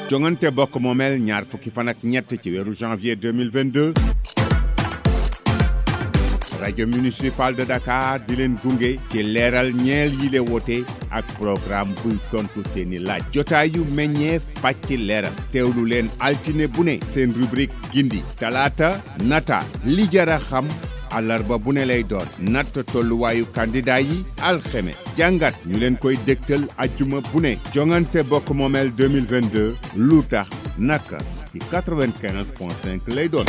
jongante bokk moomeel ñaar fukki fan ak ñett ci weeru janvier 2022 rajo municipal de Dakar di leen gunge ci leeral ñeel yile wote ak programme buy tontu seeni laaj jotaayu meññeef pàcc leeral teewlu leen altine bu ne seen rubrique gindi talaata nata li jara xam àllarba bu ne lay doon natt tolluwaayu candidat yi alxemes jàngat ñu leen koy dégtal ajjuma bu ne jongante bokk moomeel 2022 lu tax naka ci 95.5 lay doon.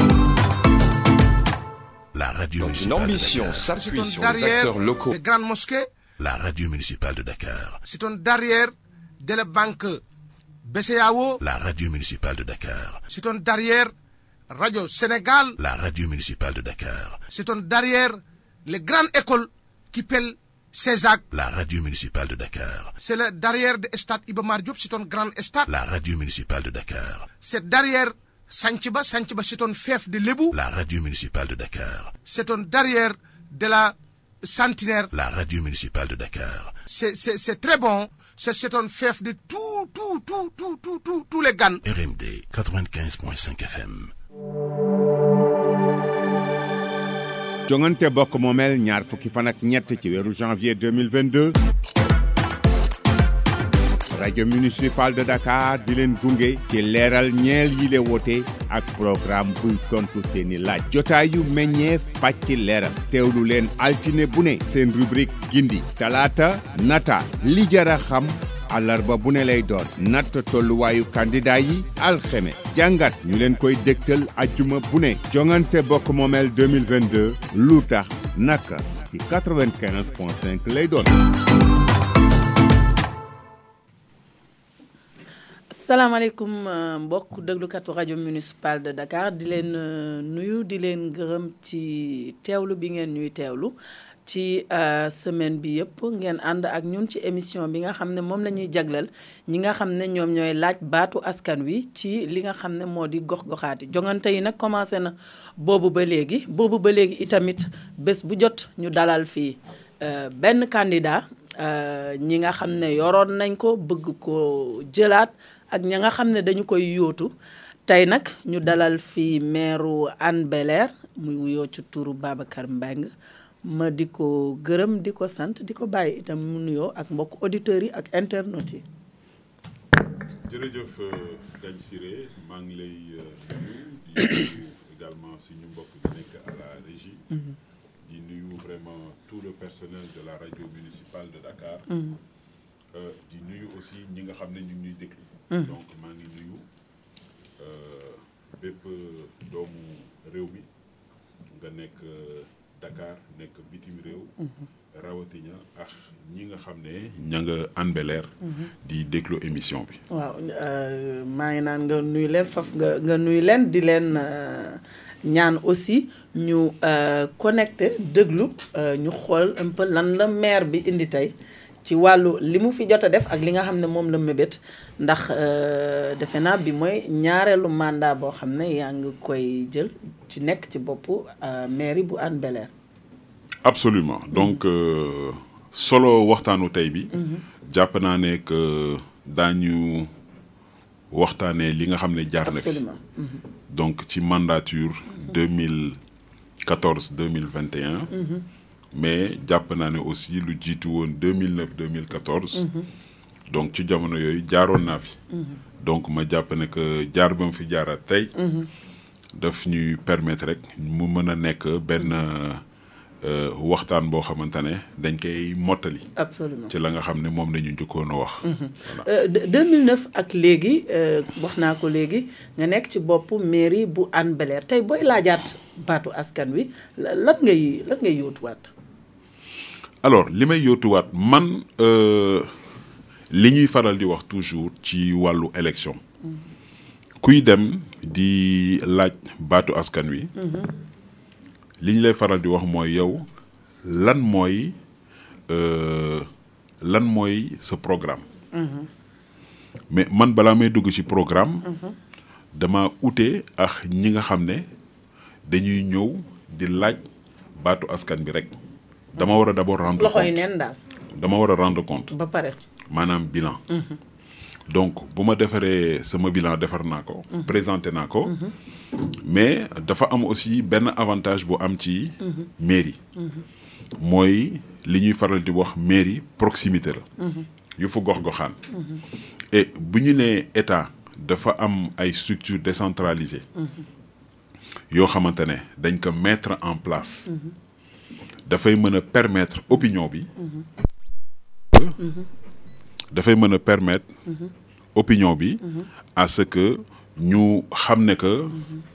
La radio Donc une ambition s'appuie sur les acteurs locaux. Des grandes mosquées. La radio municipale de Dakar. C'est un derrière de la banque BCEAO. La radio municipale de Dakar. C'est un derrière Radio Sénégal. La radio municipale de Dakar. C'est un derrière les grandes écoles qui pèlent CESAC. La radio municipale de Dakar. C'est le derrière de Stade Iba Mar Diop, c'est un grand stade. La radio municipale de Dakar. C'est derrière Sanchiba c'est un fief de Lebou. La radio municipale de Dakar. C'est un derrière de la Centenaire. La radio municipale de Dakar. C'est très bon. C'est un fief de tous les GAN. RMD 95.5 FM. jongante bokk moomeel ñaar fukki fan ak ñett ci weeru janvier 2022 rajo municipal de Dakar di leen gunge ci leeral ñeel yile wote ak programme buy tontu seeni laaj jotaayu meññeef pàcc leeral teewlu leen altine bu ne seen rubrique gindi talaata nata li jara xam àllarba bu ne lay doon natt tolluwaayu candidat yi alxemes jàngat ñu leen koy dégtal ajjuma bu ne jongante bokk moomeel 2022 lu tax naka ci 95.5 lay doon. salaamaaleykum mbokk déglukatu rajo municipal de Dakar di leen nuyu di leen gërëm ci teewlu bi ngeen ñuy teewlu ci semaine bi yëpp ngeen ànd ak ñun ci émission bi nga xam ne moom la ñuy jagleel ñi nga xam ne ñoom ñooy laaj baatu askan wi ci li nga xam ne moo di gox-goxaati jongante yi nag commencé na boobu ba léegi itamit bés bu jot ñu dalal fii benn candidat ñi nga xam ne yoroon nañ ko bëgg ko jëlaat ak ña nga xam ne dañu koy yóotu tey nag ñu dalal fii maire Hann Bel-Air muy wuyoo ci turu Babacar Mbengue ma di ko gërëm di ko sant di ko bàyyi itam mu nuyoo ak mbokk auditeurs yi ak internautes yi. jërëjëf Gagne Siré maa ngi lay nuyu di nuyu également suñu mbokk bi nekk à la régie. di nuyu vraiment tout le personnel de la radio municipale de Dakar. di nuyu aussi ñi nga xam ne ñu ngi ñuy déglu. donc maa ngi nuyu bépp doomu réew mi nga nekk Dakar nekk bitim réew. rawatina ak ñi nga xam ne ña nga Hann Bel-Air di déglu émission bi. waaw maa ngi naan nga nuyu leen faf nga nuyu leen di leen ñaan aussi ñu connecté déglu ñu xool un peu lan la maire bi indi tey ci wàllu li mu fi jot a def ak li nga xam ne moom la mébét ndax defe naa bi mooy ñaareelu mandat boo xam ne yaa ngi koy jël ci nekk ci boppu mairie bu Hann Bel-Air. absolument donc solo waxtaanu tey bi. jàpp naa ne que daañu waxtaanee li nga xam ne jaar na fi. donc ci mandature 2014-2021. mais jàpp naa ne aussi lu jiitu woon 2009-2014. donc ci jamono yooyu jaaroon naa fi. donc ma jàpp ne que jaar ba mu fi jaaraat tey. daf ñuy permettre rek mu mën a nekk benn waxtaan boo xamante ne dañ koy mottali. absolument ci la nga xam ne moom la ñu njëkkoon a wax. voilà 2009 ak léegi wax naa ko léegi nga nekk ci boppu mairie bu Hann Bel-Air tey booy laajaat baatu askan wi lan ngay yóotuwaat. alors li may yóotuwaat man li ñuy faral di wax toujours ci wàllu élection. kuy dem di laaj baatu askan wi. li ñu lay faral di wax mooy yow lan mooy sa programme. mais man balaa may dugg ci programme. dama ute ak ñi nga xam ne dañuy ñëw di laaj baatu askan bi rek. dama war a d'abord rendre compte loxoy neen daal. dama war a rendre compte. ba pare. maanaam bilan. donc bu ma defaree sama bilan defar naa ko présenté naa ko mais dafa am aussi benn avantage bu am ci mairie mooy li ñuy faral di wax mairie proximité la yu fu gox-goxaan et bu ñu nee état dafa am ay structures décentralisées yoo xamante ne dañ ko mettre en place dafay mën a permettre opinion bi dafay mën a permettre opinion bi à ce que ñu xam ne que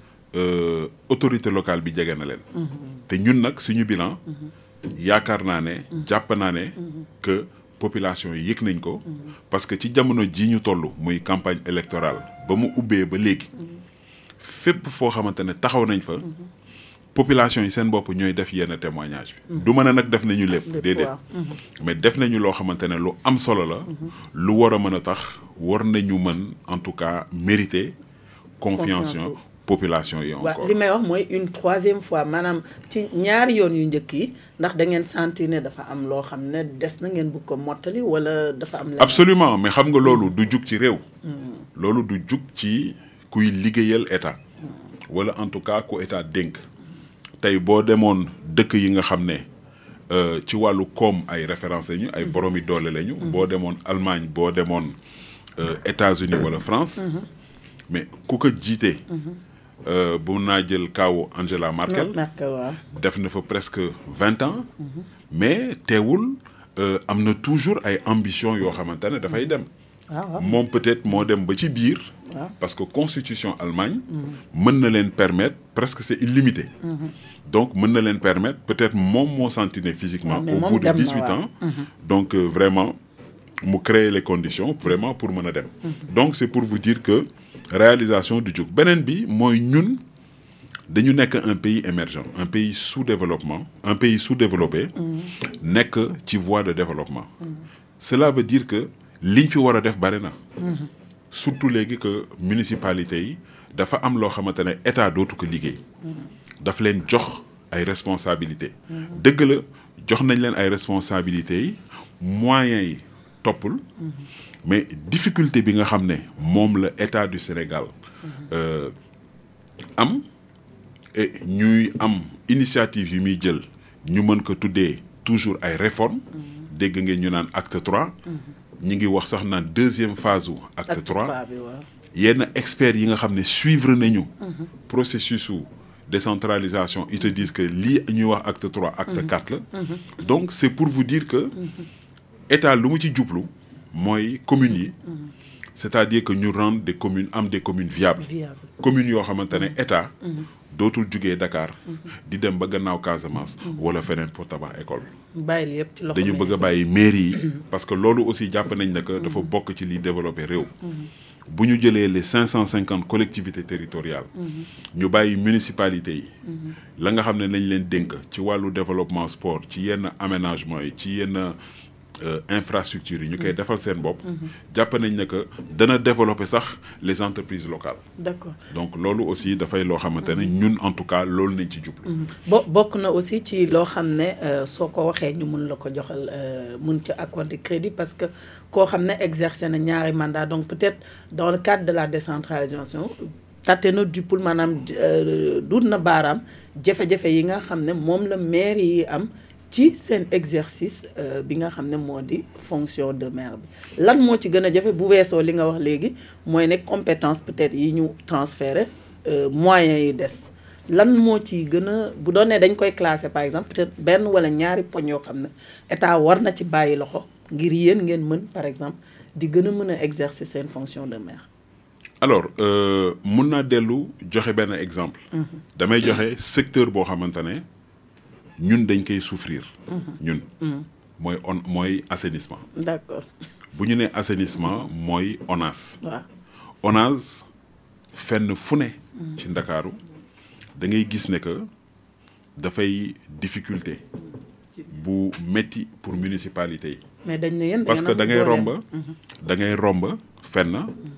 autorité locale bi jege na leen te ñun nag suñu bilan yaakaar naa ne jàpp naa ne que population yi yëg nañ ko parce que ci jamono ji ñu toll muy campagne électorale ba mu ubbee ba léegi fépp foo xamante ne taxaw nañ fa population yi seen bopp ñooy def yenn témoignage bi du mën a nag def nañu lépp déedéet mais def nañu loo xamante ne lu am solo la lu war a mën a tax war nañu mën en tout cas mériter confiance population yi encore li may wax mooy une troisième fois maanaam ci ñaari yoon yu njëkk yi ndax da ngeen sentir ne dafa am loo xam ne des na ngeen bëgg ko mottali wala dafa am absolument mais xam nga loolu du jug ci réew loolu du jug ci kuy liggéeyal état wala en tout cas ku état dénk tey boo demoon dëkk yi nga xam ne ci wàllu koom ay référence lañu ay boromi doole lañu boo demoon Allemagne boo demoon États-Unis wala France mais ku ko jiite bu naa jël kaawu Angela Merkel def na fa presque 20 ans mais teewul am na toujours ay ambition yoo xamante ne dafay dem moom peut-être moo dem ba ci biir parce que constitution Allemagne mën na leen permettre presque c'est illimité donc mën na leen permettre peut-être moom moo sentir ne physiquement au bout de 18 ans donc vraiment mu créer les conditions vraiment pour mën a dem donc c'est pour vous dire que réalisation du jóg beneen bi mooy ñun dañu nekk un pays émergent un pays sous-développement un pays sous-développé nekk ci voie de développement cela veut dire que liñ fi war a def bari na surtout léegi que municipalité yi dafa am loo xamante ne état dootu ko liggéey daf leen jox ay responsabilités dëgg la jox nañ leen ay responsabilités yi moyens yi toppul mais difficulté bi nga xam ne moom la état du Sénégal am et ñuy am initiative yu muy jël ñu mën ko tuddee toujours ay réformes dégg ngeen ñu naan acte 3 ñi ngi wax sax naan deuxième phase u acte 3 yenn experts yi nga xam ne suivre nañu processus u décentralisation ils te disent que lii ñuy wax acte 3 acte 4 la donc c'est pour vous dire que état lu mu ci jublu mooy communes yi c'est-à-dire que ñu rendre des communes am des communes viables communes yoo xamante ne état dootul jugee Dakar di dem ba gannaaw Casamance wala feneen pour tabax école bàyyi yëpp ci loxo dañu bëgg a bàyyi mairie yi parce que loolu aussi jàpp nañ ne que dafa bokk ci liy développé réew bu ñu jëlee les 550 collectivités territoriales ñu bàyyi municipalités yi la nga xam ne lañ leen dénk ci wàllu développement sport ci yenn aménagement yi ci yenn infrastructures yi ñu koy defal seen bopp jàpp nañ ne que dana développer sax les entreprises locales d'accord donc loolu aussi dafay loo xamante ne ñun en tout cas loolu nañ ci jublu bokk na aussi ci loo xam ne soo ko waxee ñu mun la ko joxal mun ci accorder crédit parce que koo xam ne exercer na ñaari mandat donc peut-être dans le cadre de la décentralisation tate na duppul maanaam duut na baaraam jafe-jafe yi nga xam ne moom la maire yi am ci seen exercice bi nga xam ne moo di fonction de maire bi lan moo ci gën a jafe bu weesoo li nga wax léegi mooy ne compétence peut-être yi ñu transféré moyens yi des lan moo ci gën a bu doon ne dañ koy classer par exemple peut-être benn wala ñaari poñ yoo xam ne état war na ci bàyyi loxo ngir yéen ngeen mën par exemple di gën a mën a exercer seen fonction de maire. alors mun naa dellu joxe benn exemple. damay joxe secteur boo xamante ne ñun dañ koy souffrir. ñun. mooy assainissement. d'accord. bu ñu nee assainissement mooy ONAS. waaw ONAS fenn fu ne. ci Ndakaaru da ngay gis ne que dafay difficulté bu metti pour municipalité yi. mais dañ ne yéen parce que da ngay romb fenn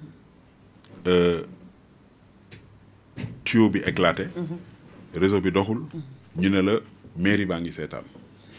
tuyau bi éclaté. réseau bi doxul. ñu ne la mairie baa ngi seetaan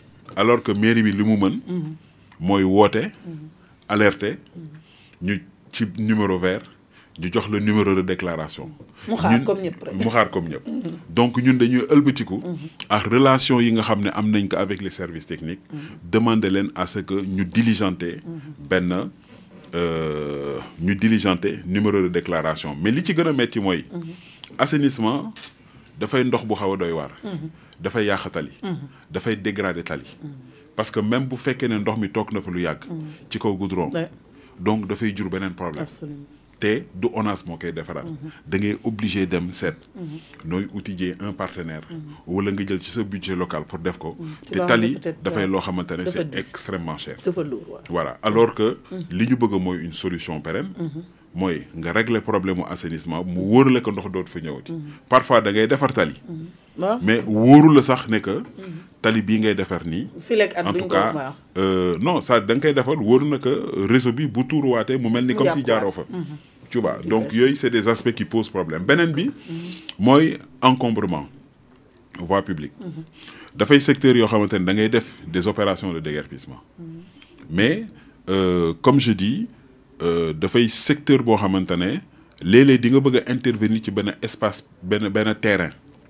alors que mairie bi li mu mën. mooy woote. alerter ñu ci numéro vert ñu jox le numéro de déclaration. mu xaar comme ñëpp rek mu xaar comme ñëpp. donc ñun dañuy ëlbatiku. ak relation yi nga xam ne am nañ ko avec les services techniques. demander leen à ce que ñu diligenter benn ñu diligenter numéro de déclaration mais li ci gën a metti mooy. assainissement dafay ndox bu xaw a doy waar. dafay yàq tali. dafay dégrader tali. parce que même bu fekkee ne ndox mi toog na fa lu yàgg. ci kaw goudron. donc dafay jur beneen problème. absolument te du ONAS moo koy defaraat. da ngay obligé dem seet. nooy outiller un partenaire. wala nga jël ci sa budget local pour def ko. te tali dafay loo xamante ne c'est extrêmement cher. dafa lourd voilà alors que li ñu bëgg mooy une solution pérenne. mooy nga régler problème mu assainissement mu wóor la ko ndox dootu fa ñëwati. parfois da ngay defar tali. mais wóoru la sax ne que tali bii ngay defar nii. en tout cas non ça da nga koy defar wóoru na que réseau bi bu tuuruwaatee mu mel ni comme si jaaroo fa. tu vois donc yooyu c'est des aspects qui posent problème beneen bi mooy encombrement voie publique. dafay secteur yoo xamante ne da ngay def des opérations de déguerpissement. mais comme je dis dafay secteur boo xamante ne léeg-léeg di nga bëgg a intervenir ci benn espace benn terrain.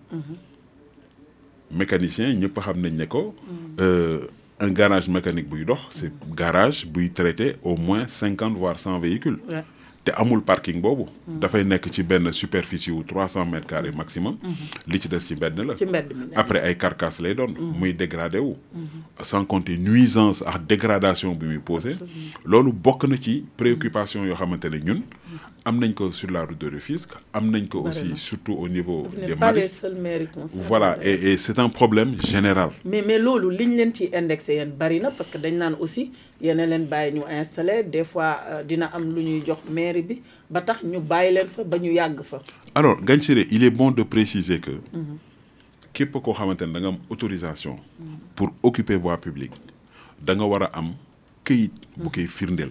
mécanicien ñëpp xam nañ ne ko un garage mécanique buy dox c'est garage buy traiter au moins 50 voire 100 véhicules. te amul parking boobu. dafay nekk ci benn superficie wu 300 mètres carrés maximum. li ci des ci mbedd la. après ay carcasse lay doon. muy dégradé wu. sans compter nuisance ak dégradation bi muy posé. loolu bokk na ci préoccupation yoo xamante ne ñun. am nañ ko sur la route de Rufisque am nañ ko aussi surtout au niveau des Maristes. voilà et c'est un problème général. mais loolu liñ leen ci indexé yéen bari na parce que dañ naan aussi yéen a leen bàyyi ñu installé des fois dina am lu ñuy jox mairie bi ba tax ñu bàyyi leen fa ba ñu yàgg fa. alors Ngagne Siré il est bon de préciser que képp koo xamante ne da nga am autorisation pour occuper voie publique da nga war a am këyit bu koy firndeel.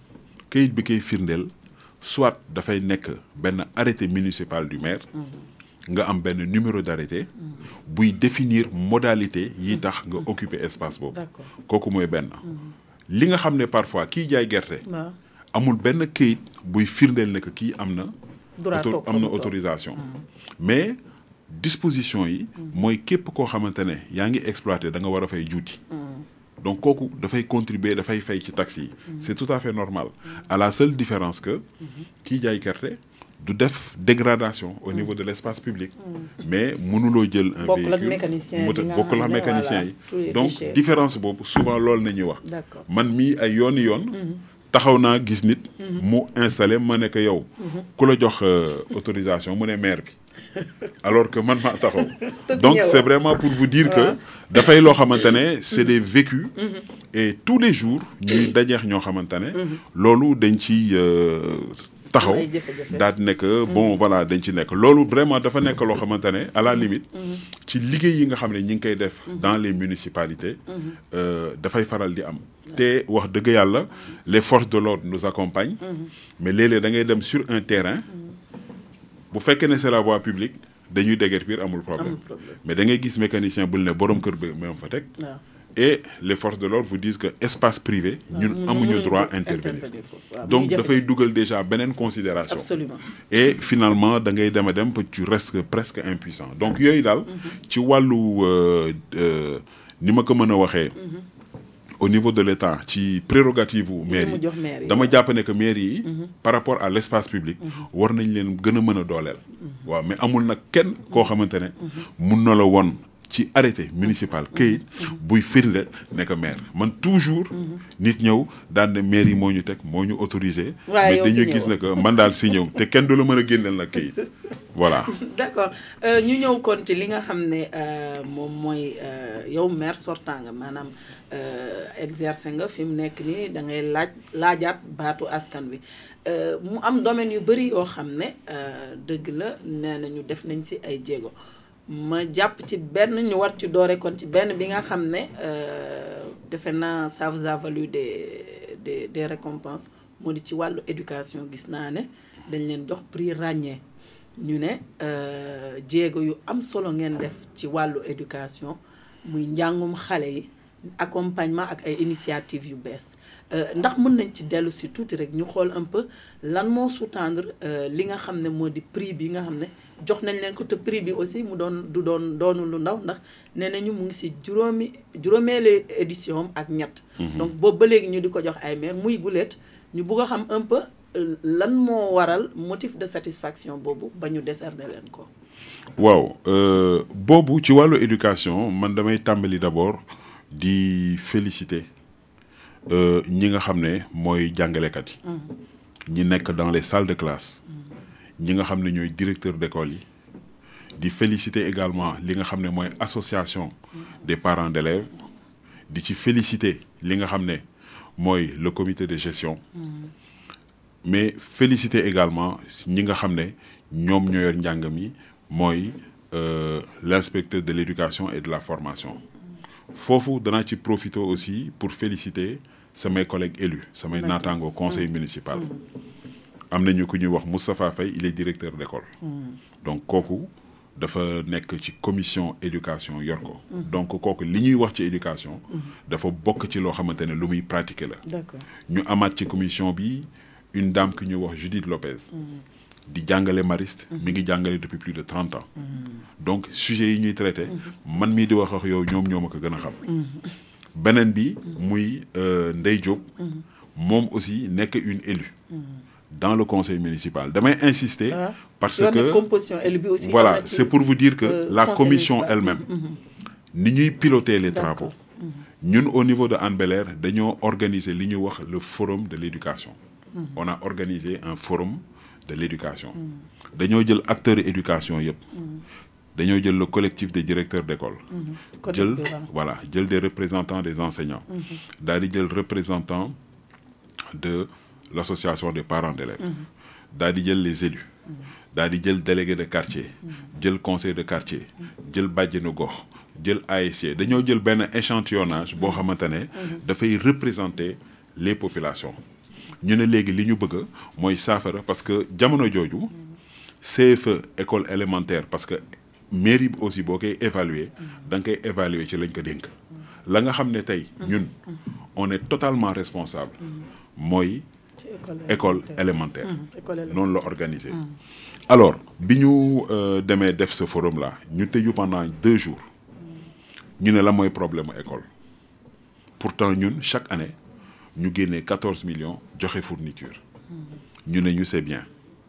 këyit bi koy firndeel soit dafay nekk benn arrêté municipal du maire. nga am benn numéro d'arrêté buy définir modalité yi tax nga occuper espace boobu. kooku mooy benn. li nga xam ne parfois kii jaay gerte. amul benn këyit buy firndeel ne que kii am na. autorisation. mais disposition yi. mooy képp koo xamante ne yaa ngi exploité da nga war a fay juuti. donc kooku dafay contribuer dafay fay ci taxes yi. c'est tout à fait normal. à la seule différence que kii jaay gerte du def dégradation au niveau de l'espace public. mais mënuloo jël un véhicule bokkul ak mécanicien yi. donc différence boobu souvent loolu nañuy wax. man mii ay yooni yoon. taxaw naa gis nit. mu installé ma ne que yow. ku la jox autorisation mu ne maire bi. alors que man maa taxaw. donc c'est vraiment pour vous dire que dafay loo xamante ne c'est des vécus. et tous les jours ñuy dajeex ñoo xamante ne. loolu dañ ci taxaw daal di nekk bon voilà dañ ci nekk loolu vraiment dafa nekk loo xamante ne à la limite. ci liggéey yi nga xam ne ñi ngi koy def. dans les municipalités. dafay faral di am. te wax dëgg yàlla les forces de l'ordre nous accompagnent. mais léeg-léeg da ngay dem sur un terrain. bu fekkee ne c'est la voie publique dañuy déguerpir amul problème mais da ngay gis mécanicien bul ne borom kër bi même fa teg. et les forces de l'ordre vous disent que espace privé ñun amuñu droit intervenir donc dafay dugal déjà beneen considération. Absolument. et finalement da ngay dem a dem ba tu restes presque impuissant donc yooyu daal ci wàllu ni ma ko mën a waxee. au niveau de l'État ci prérogative u maire yi dama jàpp ne que maire yi par rapport à l'espace public war nañ leen gën a mën a dooleel. waaw mais amul nag kenn koo xamante ne mun na la won ci arrêté municipal këyit buy firnde nekk maire man toujours nit ñëw daan ne maire yi moo ñu teg moo ñu autorisé. mais dañuy gis ne que man daal si ñëw te kenn du la mën a génneel nag këyit voilà. d'accord ñu ñëw kon ci li nga xam ne moom mooy yow maire sortant nga maanaam exercer nga fi mu nekk nii da ngay laajaat baatu askan wi mu am domaine yu bëri yoo xam ne dëgg la nee nañu def nañ si ay jéego. ma jàpp ci benn ñu war ci doore kon ci benn bi nga xam ne defe naa ça vous a valu des récompenses moo di ci wàllu éducation gis naa ne dañ leen jox prix ràññee ñu ne jéego yu am solo ngeen def ci wàllu éducation muy njàngum xale yi accompagnement ak ay initiatives yu bees ndax mën nañ ci dellu si tuuti rek ñu xool un peu lan moo sous-tendre li nga xam ne moo di prix bi nga xam ne jox nañ leen ko te prix bi aussi mu doonu lu ndaw ndax nee nañu mu ngi si juróomeelu édition ak ñett. donc boobu ba léegi ñu di ko jox ay maire muy guleet ñu bugg a xam un peu lan moo waral motif de satisfaction boobu ba ñu décerner leen ko. waaw boobu ci wàllu éducation man damay tàmbali d'abord di féliciter ñi nga xam ne mooy jàngalekat yi. ñi nekk dans les salles de classe. ñi nga xam ne ñooy directeur d'école yi. di féliciter également li nga xam ne mooy association des parents d'élèves. di ci féliciter li nga xam ne mooy le comité de gestion. mais féliciter également ñi nga xam ne ñoom ñoo yor njàng mi mooy l'inspecteur de l'éducation et de la formation. foofu danaa ci profiter aussi pour féliciter samay collègues élus samay naataango conseil municipal. am nañu ku ñuy wax Moustapha Faye il est directeur d'école. donc kooku dafa nekk ci commission éducation yor ko. donc kooku li ñuy wax ci éducation. dafa bokk ci loo xamante ne lu muy pratiquer la. d'accord ñu amaat ci commission bi une dame ki ñuy wax Judith Lopez. di jàngale mariste. mi ngi jàngale depuis plus de 30 ans. donc sujet yi ñuy traité. man mii di wax ak yow ñoom ñoo ma ko gën a xam. beneen bi muy Ndeye Diop. moom aussi nekk une élue. dans le conseil municipal damay insister. parce que composition élue bi aussi voilà c'est pour vous dire que la commission elle-même. ni ñuy piloter les travaux. ñun au niveau de Hann Bel-Air dañoo organiser li ñuy wax le forum de l'éducation. on a organisé un forum de l'éducation. dañoo jël acteurs éducation yëpp. dañoo jël le collectif des directeurs d'école. jël voilà jël des représentants des enseignants. daal di jël représentant de l'association des parents d'élèves. daal di jël les élus. daal di jël délégué de quartier. jël conseil de quartier. jël bàjjenu gox. jël ASC dañoo jël benn échantillonnage boo xamante ne. dafay représenter les populations. ñu ne léegi li ñu bëgg mooy saafara parce que jamono jooju. CFE école élémentaire parce que mairie bi aussi boo koy évaluer da nga koy évaluer ci lañ ko dénk. la nga xam ne tey ñun on est totalement responsable. mooy école élémentaire. noonu la organisé. alors bi ñu demee def ce forum là ñu tëju pendant 2 jours. ñu ne la mooy problème école. pourtant ñun chaque année ñu génnee 14 millions joxe fourniture. ñu ne ñu c'est bien.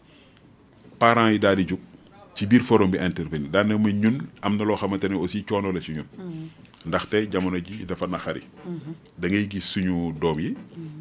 parents yi daal di jug ci biir forum bi intervenir daan na muy ñun am na loo xamante ne aussi coono la ci ñun. ndaxte jamono ji dafa naxari. da ngay gis suñu doom yi.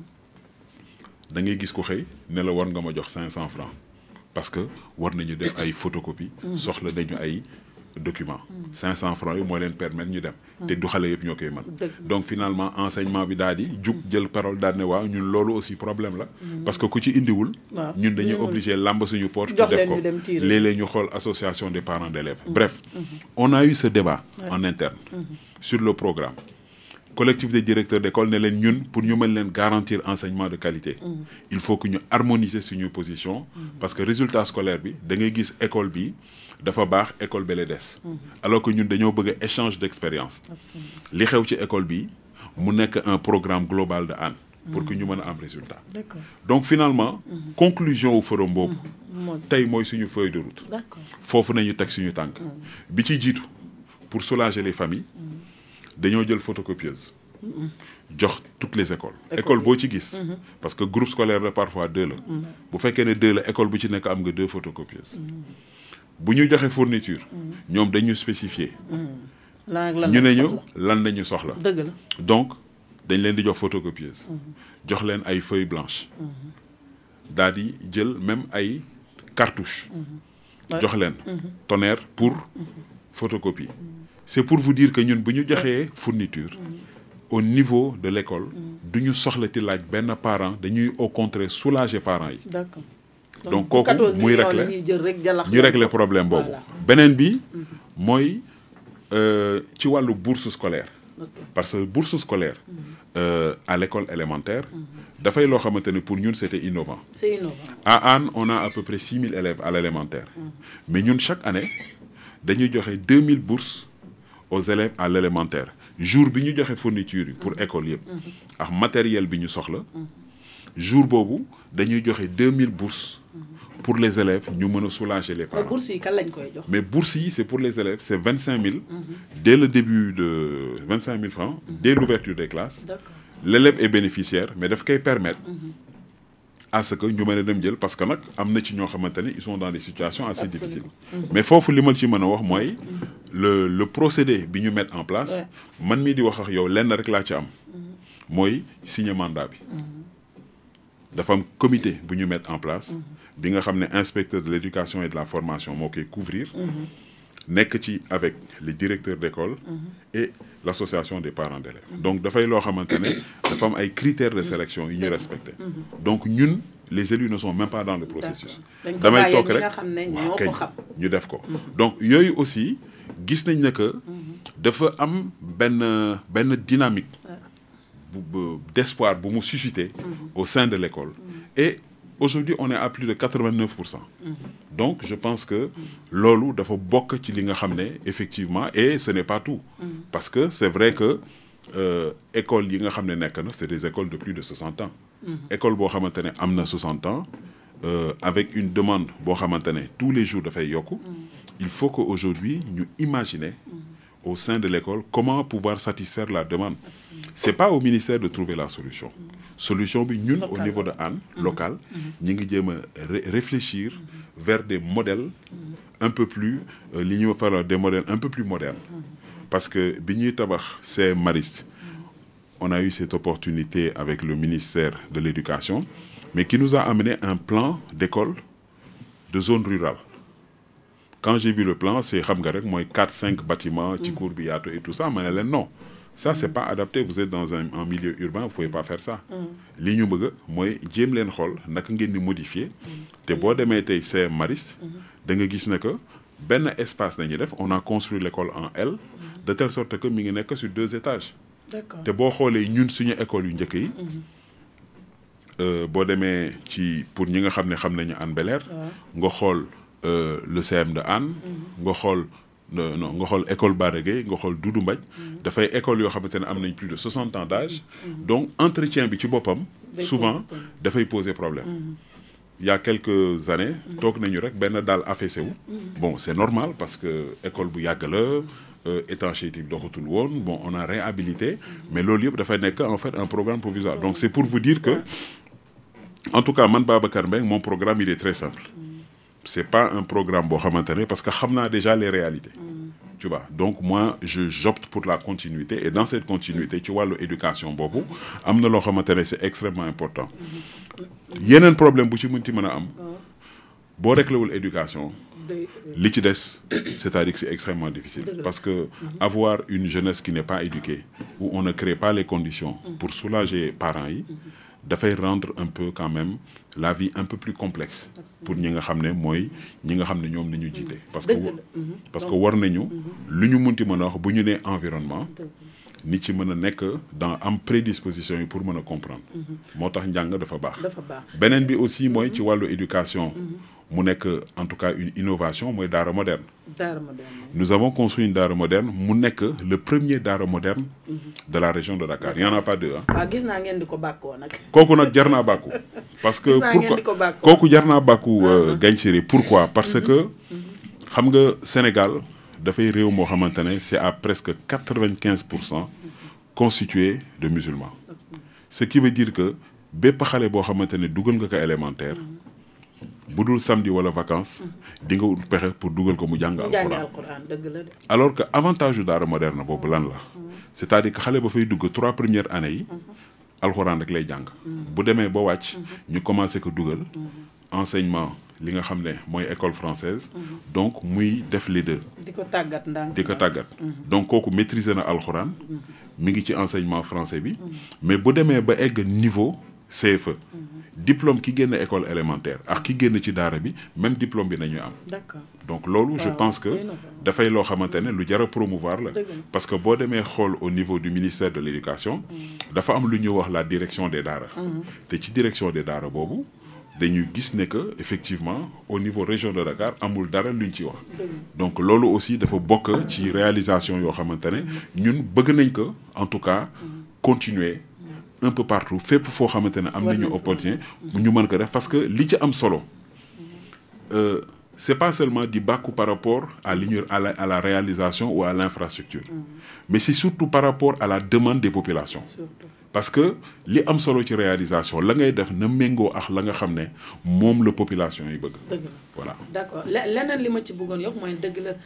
da ngay gis ko xëy ne la war nga ma jox 500 francs parce que war nañu def ay photocopie soxla nañu ay documents. 500 francs yi moo leen permettre ñu dem. te du xale yëpp ñoo koy mën. donc finalement enseignement bi daal di jug jël parole daal ne waaw ñun loolu aussi problème la. parce que ku ci indiwul. ñun dañuy obligé làmb suñu porte. pour def ko léeg-léeg ñu xool association des parents d'élèves. bref on a eu ce débat en interne. sur le programme. collectif des directeurs d'école ne leen ñun pour ñu mën leen garantir enseignement de qualité. il faut que ñu harmoniser suñu position. parce que résultat scolaire bi da ngay gis école bi dafa baax école bele des. alors que ñun dañoo bëgg a échange d'expérience. li xew ci école bi mu nekk un programme global de Hann. pour que ñu mën a am résultat. donc finalement. conclusion au forum boobu. tey mooy suñu feuille de route. foofu nañu teg suñu tànk. bi ci jiitu pour soulager les familles. dañoo jël photocopieuse. jox toutes les écoles. école boo ci gis. parce que groupe scolaire la parfois 2 la. bu fekkee ne 2 la école bu ci nekk am nga 2 photocopieuses. bu ñu joxe fourniture. ñoom dañu spécifier. ñu ne ñu lan lañu soxla. dëgg la donc dañ leen di jox photocopieuse. jox leen ay feuilles blanches. daal di jël même ay cartouches. jox leen tonnerre pour photocopie. c'est pour vous dire que ñun bu ñu joxee fourniture au niveau de l'école du ñu soxlati laaj benn parent dañuy au contraire soulager parents yi. d'accord donc kooku muy régler problème boobu. beneen bi mooy ci wàllu bourse scolaire. parce que bourse scolaire à l'école élémentaire dafay loo xamante ne pour ñun c'était innovant. c'est innovant. à Hann on a à peu près 6000 élèves à l'élémentaire. mais ñun chaque année dañuy joxe 2000 bourses aux élèves à l'élémentaire jour bi ñu joxe fourniture yi pour école yëpp ak matériel bi ñu soxla jour boobu dañuy joxe 2000 bourses pour les élèves ñu mën a soulager les parents. mais bourses yi kan lañ koy jox. mais bourses yi c'est pour les élèves c'est 25000 dès le début de 25000 francs dès l'ouverture des classes. D'accord. L'élève est bénéficiaire mais daf koy permettre à ce que ñu mën a dem jël parce que nag am na ci ñoo xamante ne ils sont dans des situations assez difficiles mais foofu li ma ci mën a wax mooy le procédé bi ñu mettre en place man mii di wax ak yow lenn rek laa ci am mooy signer mandat bi dafa am comité bu ñu mettre en place bi nga xam ne inspecteur de l'éducation et de la formation moo koy couvrir nekk ci avec les directeurs d'école et l'association des parents d'élèves donc dafay loo xamante ne dafa am ay critères de sélection yu ñu respecté donc ñun les élus ne sont même pas dans le processus damay toog rek waaw kay ñu def ko donc yooyu aussi gis nañ ne que dafa am benn dynamique d'espoir bu mu susciter au sein de l'école et aujourd'hui on est à plus de 89%. Donc je pense que loolu dafa bokk ci li nga xam ne effectivement et ce n'est pas tout parce que c'est vrai que école yi nga xam ne nekk na c'est des écoles de plus de 60 ans école boo xamante ne am na 60 ans avec une demande boo xamante ne tous les jours dafay yokku il faut que aujourd'hui ñu imaginer au sein de l'école comment pouvoir satisfaire la demande c'est pas au ministère de trouver la solution bi ñun au niveau de Hann local ñi ngi jéem a réfléchir vers des modèles un peu plus li ñuy faral des modèles un peu plus modernes parce que bi ñuy tabax CEM Mariste on a eu cette opportunité avec le ministère de l'éducation mais qui nous a amené un plan d'école de zone rurale quand j'ai vu le plan c'est xam nga rek mooy 4-5 bâtiments ci cour bi yaatu et tout ça ma ne leen non ça c'est pas adapté vous êtes dans un milieu urbain vous pouvez pas faire ça li ñu bëgg mooy jéem leen xool naka ngeen di modifier te boo demee tey CEM Mariste da nga gis ne que benn espace nañu def on a construit l'école en L de telle sorte que mi ngi nekk sur 2 étages D'accord. te boo xoolee ñun suñu école yu njëkk yi boo demee ci pour ñi nga xam ne xam nañu Hann Bel-Air nga xool le CM de Hann nga xool non nga xool école Bara Gueye nga xool Doudou Mbadj dafay école yoo xamante ne am nañ plus de 60 ans d'âge donc entretien bi ci boppam souvent dafay poser problème il y a quelques années toog nañu rek benn daal affaissé wu bon c'est normal parce que école bu yàgg la étanchéité bi doxatul woon bon on a réhabilité mais loolu yëpp dafay nekk en fait un programme provisoire donc c'est pour vous dire que en tout cas man Babacar Mbengue mon programme il est très simple c'est pas un programme boo xamante ne parce que xam naa déjà les réalités tu vois donc moi j'opte pour la continuité et dans cette continuité ci wàllu éducation boobu am na loo xamante ne c'est extrêmement important yeneen problème bu ci mënti mën a am boo réglewul éducation li ci des c'est-à-dire que c'est extrêmement difficile parce que avoir une jeunesse qui n'est pas éduquée où on ne crée pas les conditions pour soulager parents yi dafay rendre un peu quand même la vie un peu plus complexe pour ñi nga xam ne mooy ñi nga xam ne ñoom nañu jiite parce que war nañu lu ñu munti mën a wax bu ñu nee environnement nit ci mën a nekk dans am prédisposition yi pour mën a comprendre moo tax njàng dafa baax beneen bi aussi mooy ci wàllu éducation mu nekk en tout cas une innovation mooy daara moderne nous avons construit une daara moderne mu nekk le premier daara moderne de la région de Dakar il y en a pas deux ah waaw gis naa ngeen di ko bàkkoo nag kooku nag jar naa bàkku parce que pourquoi kooku jar naa bàkku Gagne Séré pourquoi parce que xam nga Sénégal dafay réew moo xamante ne c'est à presque 95% constitué de musulmans ce qui veut dire que bépp xale boo xamante ne dugal nga ko élémentaire bu dul samedi wala vacances di nga ut pexe pour dugal ko mu jàng alxuraan dëgg la de alors que avantage yu daara moderne boobu lan la c'est-à-dire que xale ba fay dugg 3 premières années yi alxuraan rek lay jàng bu demee ba wàcc ñu commencé ko dugal enseignement li nga xam ne mooy école française donc muy def les deux di ko tàggat ndànk di ko tàggat donc kooku maîtriser na alxuraan mi ngi ci enseignement français bi mais bu demee ba egg niveau CFE diplôme ki génn école élémentaire ak ki génn ci daara bi même diplôme bi nañu am d'accord donc loolu je pense que dafay loo xamante ne lu jar a promouvoir la parce que boo demee xool au niveau du ministère de l'éducation dafa am lu ñuy wax la direction des daara te ci direction des daara boobu dañuy gis ne que effectivement au niveau région de Dakar amul dara luñ ci wax donc loolu aussi dafa bokk ci réalisation yoo xamante ne ñun bëgg nañ ko en tout cas continuer un peu partout fépp foo xamante ne am nañu opportunité ñu mën ko def parce que li ci am solo c'est pas seulement di bàkku par rapport à la réalisation ou à l'infrastructure mais c'est surtout par rapport à la demande des populations parce que li am solo ci réalisation la ngay def na méngoo ak la nga xam ne moom la population yi bëgg. dëgg voilà. d'accord leneen li ma ci bëggoon yokk mooy dëgg la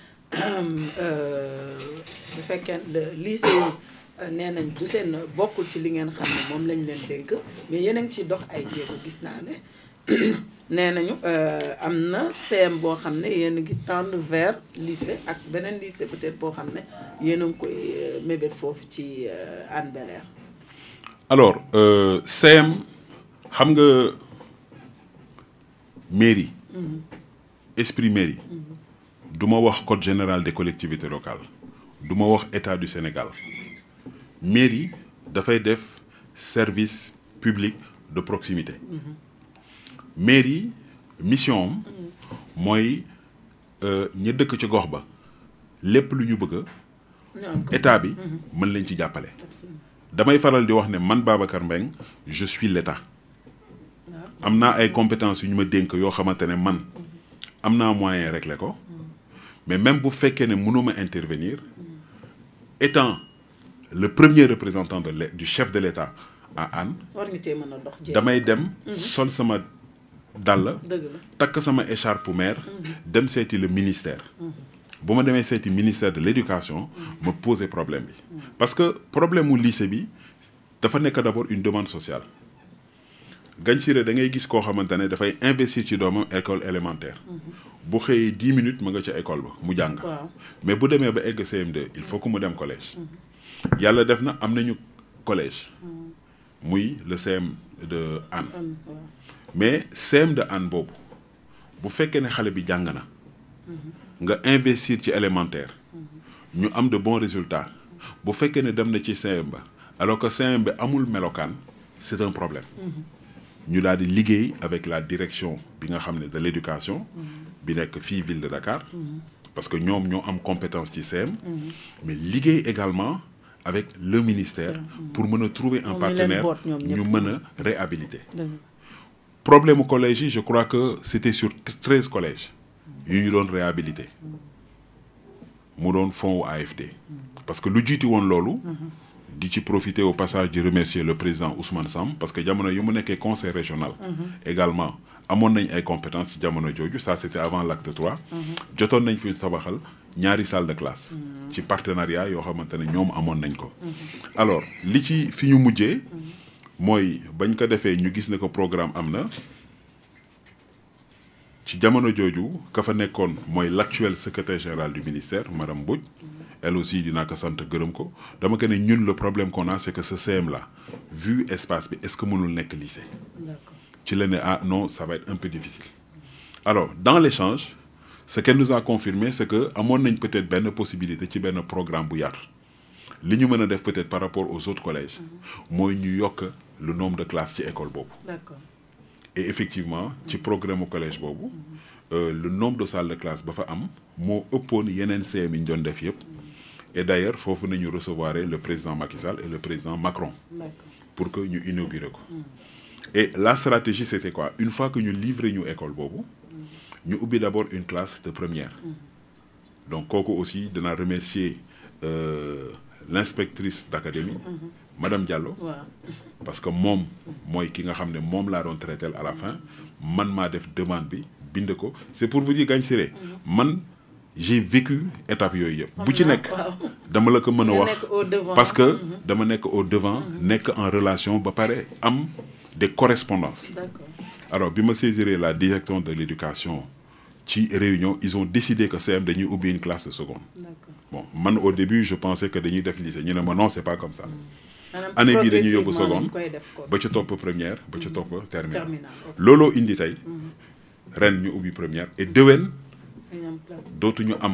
bu fekkee lycée yi nee nañ du seen bokkul ci li ngeen xam ne moom lañ leen dénk mais yéen a ngi ciy dox ay jéego gis naa ne nee nañu am na CM boo xam ne yéen a ngi tendre vers lycée ak beneen lycée peut-être boo xam ne yéen a ngi koy mébét foofu ci Hann Bel-Air. alors CM xam nga mairie esprit mairie du ma wax code général des collectivités locales du ma wax état du Sénégal mairie dafay def service public de proximité mairie mission am mooy ña dëkk ci gox ba lépp lu ñu bëgg état bi mën leen ci jàppale damay faral di wax ne man Babacar Mbengue je suis l'état am naa ay compétences yu ñu ma dénk yoo xamante ne man am naa moyen régler ko mais même bu fekkee ne mënuma intervenir étant le premier représentant du chef de l'état à Hann damay dem sol sama dàll takk sama écharpe maire dem seeti le ministère bu ma demee seeti ministère de l'éducation ma poser problème bi parce que problème mu lycée bi dafa nekk d'abord une demande sociale Gagne Siré da ngay gis koo xamante ne dafay investir ci doomam école élémentaire bu xëyee 10 minutes mu nga ca école ba mu jàng mais bu demee ba egg CM2 il faut que mu dem collège yàlla def na am nañu collège muy le CM de Hann mais CM de Hann boobu bu fekkee ne xale bi jàng na nga investir ci élémentaire ñu am de bons résultats bu fekkee ne dem na ci CM ba alors que CM bi amul melokaan c'est un problème ñu daal di liggéey avec la direction bi nga xam ne de l'éducation bi nekk fii ville de Dakar parce que ñoom ñoo am compétence ci CM mais liggéey également avec le ministère pour mën a trouver un partenaire ñu mën a réhabiliter problème au collège yi je crois que c'était sur 13 collèges yu ñu doon réhabiliter mu doon fonds wu AFD parce que lu jiiti woon loolu di ci profiter au passage de remercier le président Ousmane Sam parce que jamono yu mu nekkee conseil régional également amoon nañ ay compétences ci jamono jooju ça c'était avant l'acte 3 jotoon nañ fi sabaxal ñaari salle de classe ci partenariat yoo xamante ne ñoom amoon nañ ko alors li ci fi ñu mujjee mooy bañ ko defee ñu gis ne ko programme am na ci jamono jooju ka fa nekkoon mooy l'actuel secrétaire général du ministère madame Mbodj elle aussi dinaa ko sant gërëm ko dama ko ne ñun le problème qu'on a c'est que ce CM là vu espace bi est-ce que mënul nekk lycée ci la ne ah non ça va être un peu difficile alors dans l'échange ce qu'elle nous a confirmé c'est que amoon nañ peut-être benn possibilité ci benn programme bu yaatu li ñu mën a def peut-être par rapport aux autres collèges mooy ñu yokk le nombre de classes ci école boobu et effectivement ci programme au collège boobu le nombre de salles de classe ba fa am moo ëppoon yeneen CM yi ñu doon def yëpp et d'ailleurs foofu nañu recevoir le président Macky Sall et le président Macron pour que ñu inaugurer ko et la stratégie c'était quoi une fois que ñu livrer ñu école boobu ñu ubbi d'abord une classe de première donc kooku aussi danaa remercier l'inspectrice d'académie madame Diallo parce que moom mooy ki nga xam ne moom laa doon traiter à la fin man maa def demande bi bind ko c'est pour vous dire Gagne Siré man j'ai vécu étape yooyu yëpp bu ci nekk dama la ko mën a wax parce que dama nekk au devant nekk en relation ba pare am des correspondances alors bi ma saisiré la direction de l'éducation ci réunion ils ont décidé que CM dañuy ubbi une classe de seconde bon man au début je pensais que dañuy def lycée ñu ne ma non c'est pas comme ça année bii dañuy yóbbu seconde ba ca topp première ba ca topp terminale looloo indi tey ren ñu ubbi première et déwén dootuñu am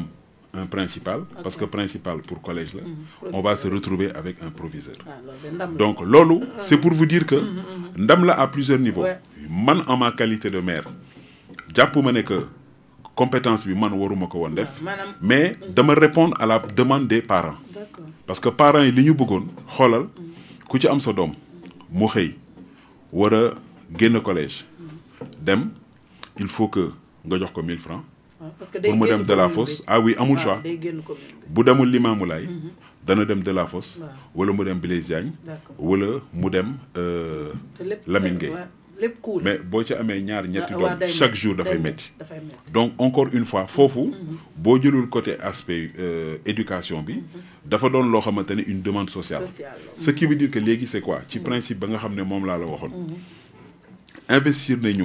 un principal parce que principal pour collège là on va se retrouver avec un proviseur donc loolu c'est pour vous dire que ndam la à plusieurs niveaux man en ma qualité de maire jàpp ma ne que compétence bi man waruma ko woon def mais dama répondre à la demande des parents parce que parents yi li ñu bëggoon xoolal ku ci am sa doom mu xëy war a génn collège dem il faut que nga jox ko 1000 francs pour mu dem de la fosse ah oui amul choix bu demul Limamoulaye dana dem de la fosse wala mu dem Blaise Diagne wala mu dem Lamine Gueye mais boo ci amee ñaar ñetti doom chaque jour dafay métti donc encore une fois foofu boo jëlul côté aspect éducation bi dafa doon loo xamante ne une demande sociale ce qui veut dire que léegi c'est quoi ci principe ba nga xam ne moom laa la waxoon investir nañu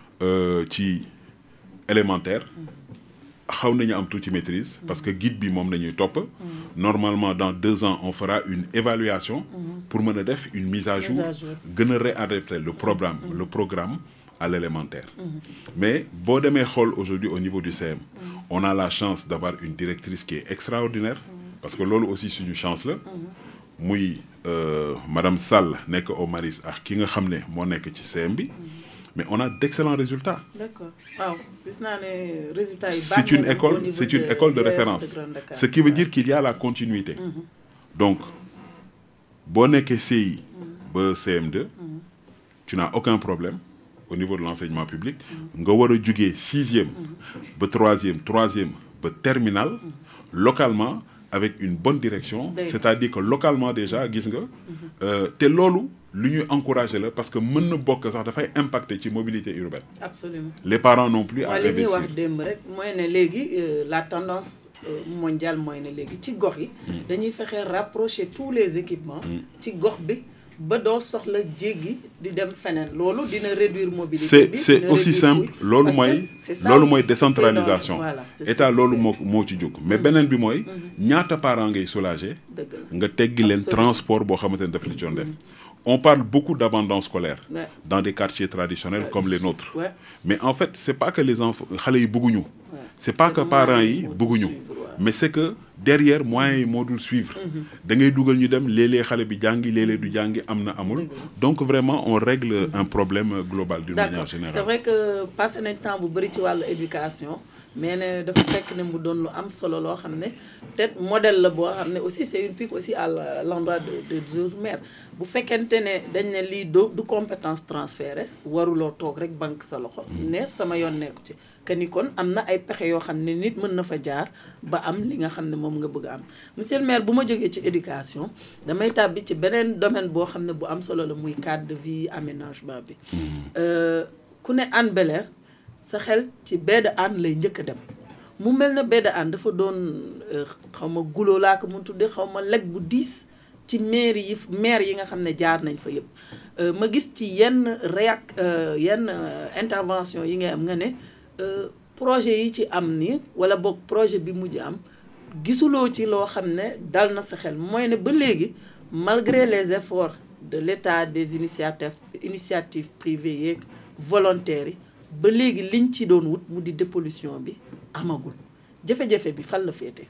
ci élémentaire xaw nañu am tuuti maîtrise parce que guide bi moom nañuy topp normalement dans 2 ans on fera une évaluation pour mën a def une mise à jour gën a réadapter le programme à l'élémentaire mais boo demee xool aujourd'hui au niveau du CM on a la chance d'avoir une directrice qui est extraordinaire parce que loolu aussi suñu chance la muy madame Sall nekk au Maris ak ki nga xam ne moo nekk ci CM bi mais on a d'excellents résultats. D'accord. Wow. C'est une école de référence. Ce qui veut dire qu'il y a la continuité. Donc, boo nekkee CI ba CM2, tu n'as aucun problème au niveau de l'enseignement public. Nga war a jugee 6e ba 3e ba terminale localement avec une bonne direction, c'est-à-dire que localement déjà gis nga te loolu lu ñuy encourager la parce que mën na bokk sax dafay impacter ci mobilité urbaine. Absolument. Les parents non plus à investir. li ñuy wax démb rek mooy ne léegi la tendance mondiale mooy ne léegi ci gox yi. dañuy fexe rapprocher tous les équipements. ci gox bi ba doo soxla jéggi di dem feneen loolu dina réduire mobilité bi. c'est aussi simple loolu mooy décentralisation. état loolu moo ci jóg mais beneen bi mooy ñaata parents ngay soulager. nga teggi leen transport boo xamante ne daf li doon def. On parle beaucoup d'abandon scolaire dans des quartiers traditionnels comme les nôtres. Mais en fait, c'est pas que les enfants, xalé yi bëgguñu. C'est pas que parents yi bëgguñu. Mais c'est que derrière moyens yi moo dul suivre. Da ngay dugal ñu dem léeg-léeg xale bi jàngi léeg-léeg du jàngi am na amul. Donc vraiment on règle un problème global d'une manière générale. C'est vrai que passé nañ temps bu bari ci wàllu éducation. mais ne dafa fekk ne mu doon lu am solo loo xam ne peut-être modèle la boo xam ne aussi c'est une pique aussi à l'endroit des autres maires bu fekkente ne dañ ne lii du compétence transférée waruloo toog rek banque sa loxo ne sama yoon nekku ci que ni kon am na ay pexe yoo xam ne nit mën na fa jaar ba am li nga xam ne moom nga bëgg a am monsieur le maire bu ma jógee ci éducation damay tàbbi ci beneen domaine boo xam ne bu am solo la muy cadre de vie aménagement bi ku ne Hann Bel-Air sa xel ci baie de Hann lay njëkk a dem mu mel na baie de Hann dafa doon xaw ma guloo laa ko mun tudde xaw ma leg bu diis ci maire yi nga xam ne jaar nañ fa yëpp ma gis ci yenn yenn intervention yi ngay am nga ne projet yi ci am ni wala boog projet bi mujj am gisuloo ci loo xam ne dal na sa xel mooy ne ba léegi malgré les efforts de l'État des initiatives privées yeeg volontaires yi ba léegi liñ ci doon wut mu di dépollution bi amagul jafe-jafe bi fan la féete.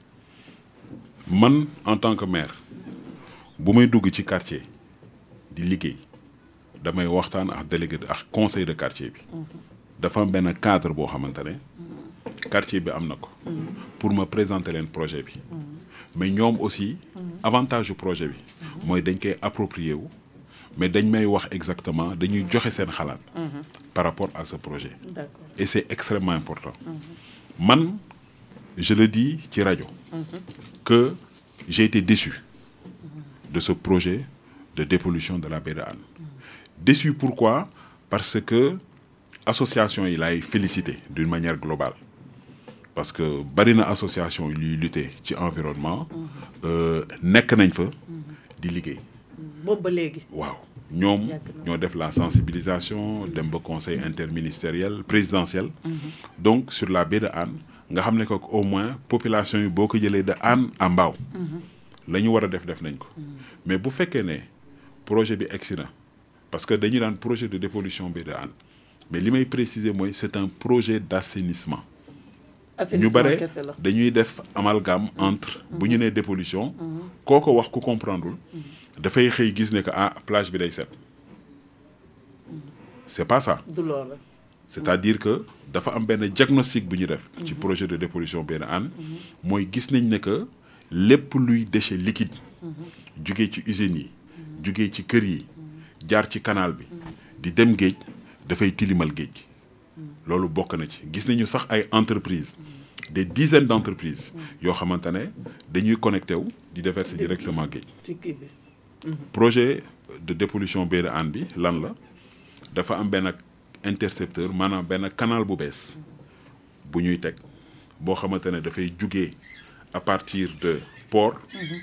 man en tant que maire bu may dugg ci quartier di liggéey damay waxtaan ak délégué ak conseil de quartier bi. dafa am benn cadre boo xamante ne quartier bi am na ko. pour ma présenter leen projet bi. mais ñoom aussi avantage du projet bi. mooy dañ koy approprier wu. mais dañ may wax exactement dañuy joxe seen xalaat. par rapport à ce projet. D'accord. Et c'est extrêmement important. Man, je le dis ci rajo. que j'ai été déçu de ce projet de dépollution de la baie de Hann. Déçu pourquoi? Parce que association yi laay félicité d'une manière globale. Parce que bari na association yi luy lutter ci environnement. nekk nañ fa di liggéey. boobu ba léegi. waaw ñoom ñoo def la sensibilisation dem ba conseil interministériel présidentiel. donc sur la baie de Hann nga xam ne que au moins population yi boo ko jëlee de Hann à Mbao. la ñu war a def nañ ko. mais bu fekkee ne projet bi egsi na parce que dañu daan projet de dépollution baie de Hann mais li may préciser mooy c'est un projet d'assainissement. assainissement ñu bare kese la. dañuy def amalgame entre bu ñu nee dépollution kooko wax ku comprendreul dafay xëy gis ne que plage bi day set c'est pas ça. du loolu. c'est-à-dire que dafa am benn diagnostic bu ñu def ci projet de dépollution benn an mooy gis nañ ne que lépp luy déchet liquide jugee ci usines yi jugee ci kër yi jaar ci canal bi di dem géej dafay tilimal géej gi loolu bokk na ci gis nañu sax ay entreprises des dizaines d'entreprises yoo xamante ne dañuy connecté wu di déverser directement géej. ci kii bi. projet de dépollution benn an bi lan la dafa am benn intercepteur maanaam benn canal bu bees bu ñuy teg boo xamante ne dafay jugee à partir de port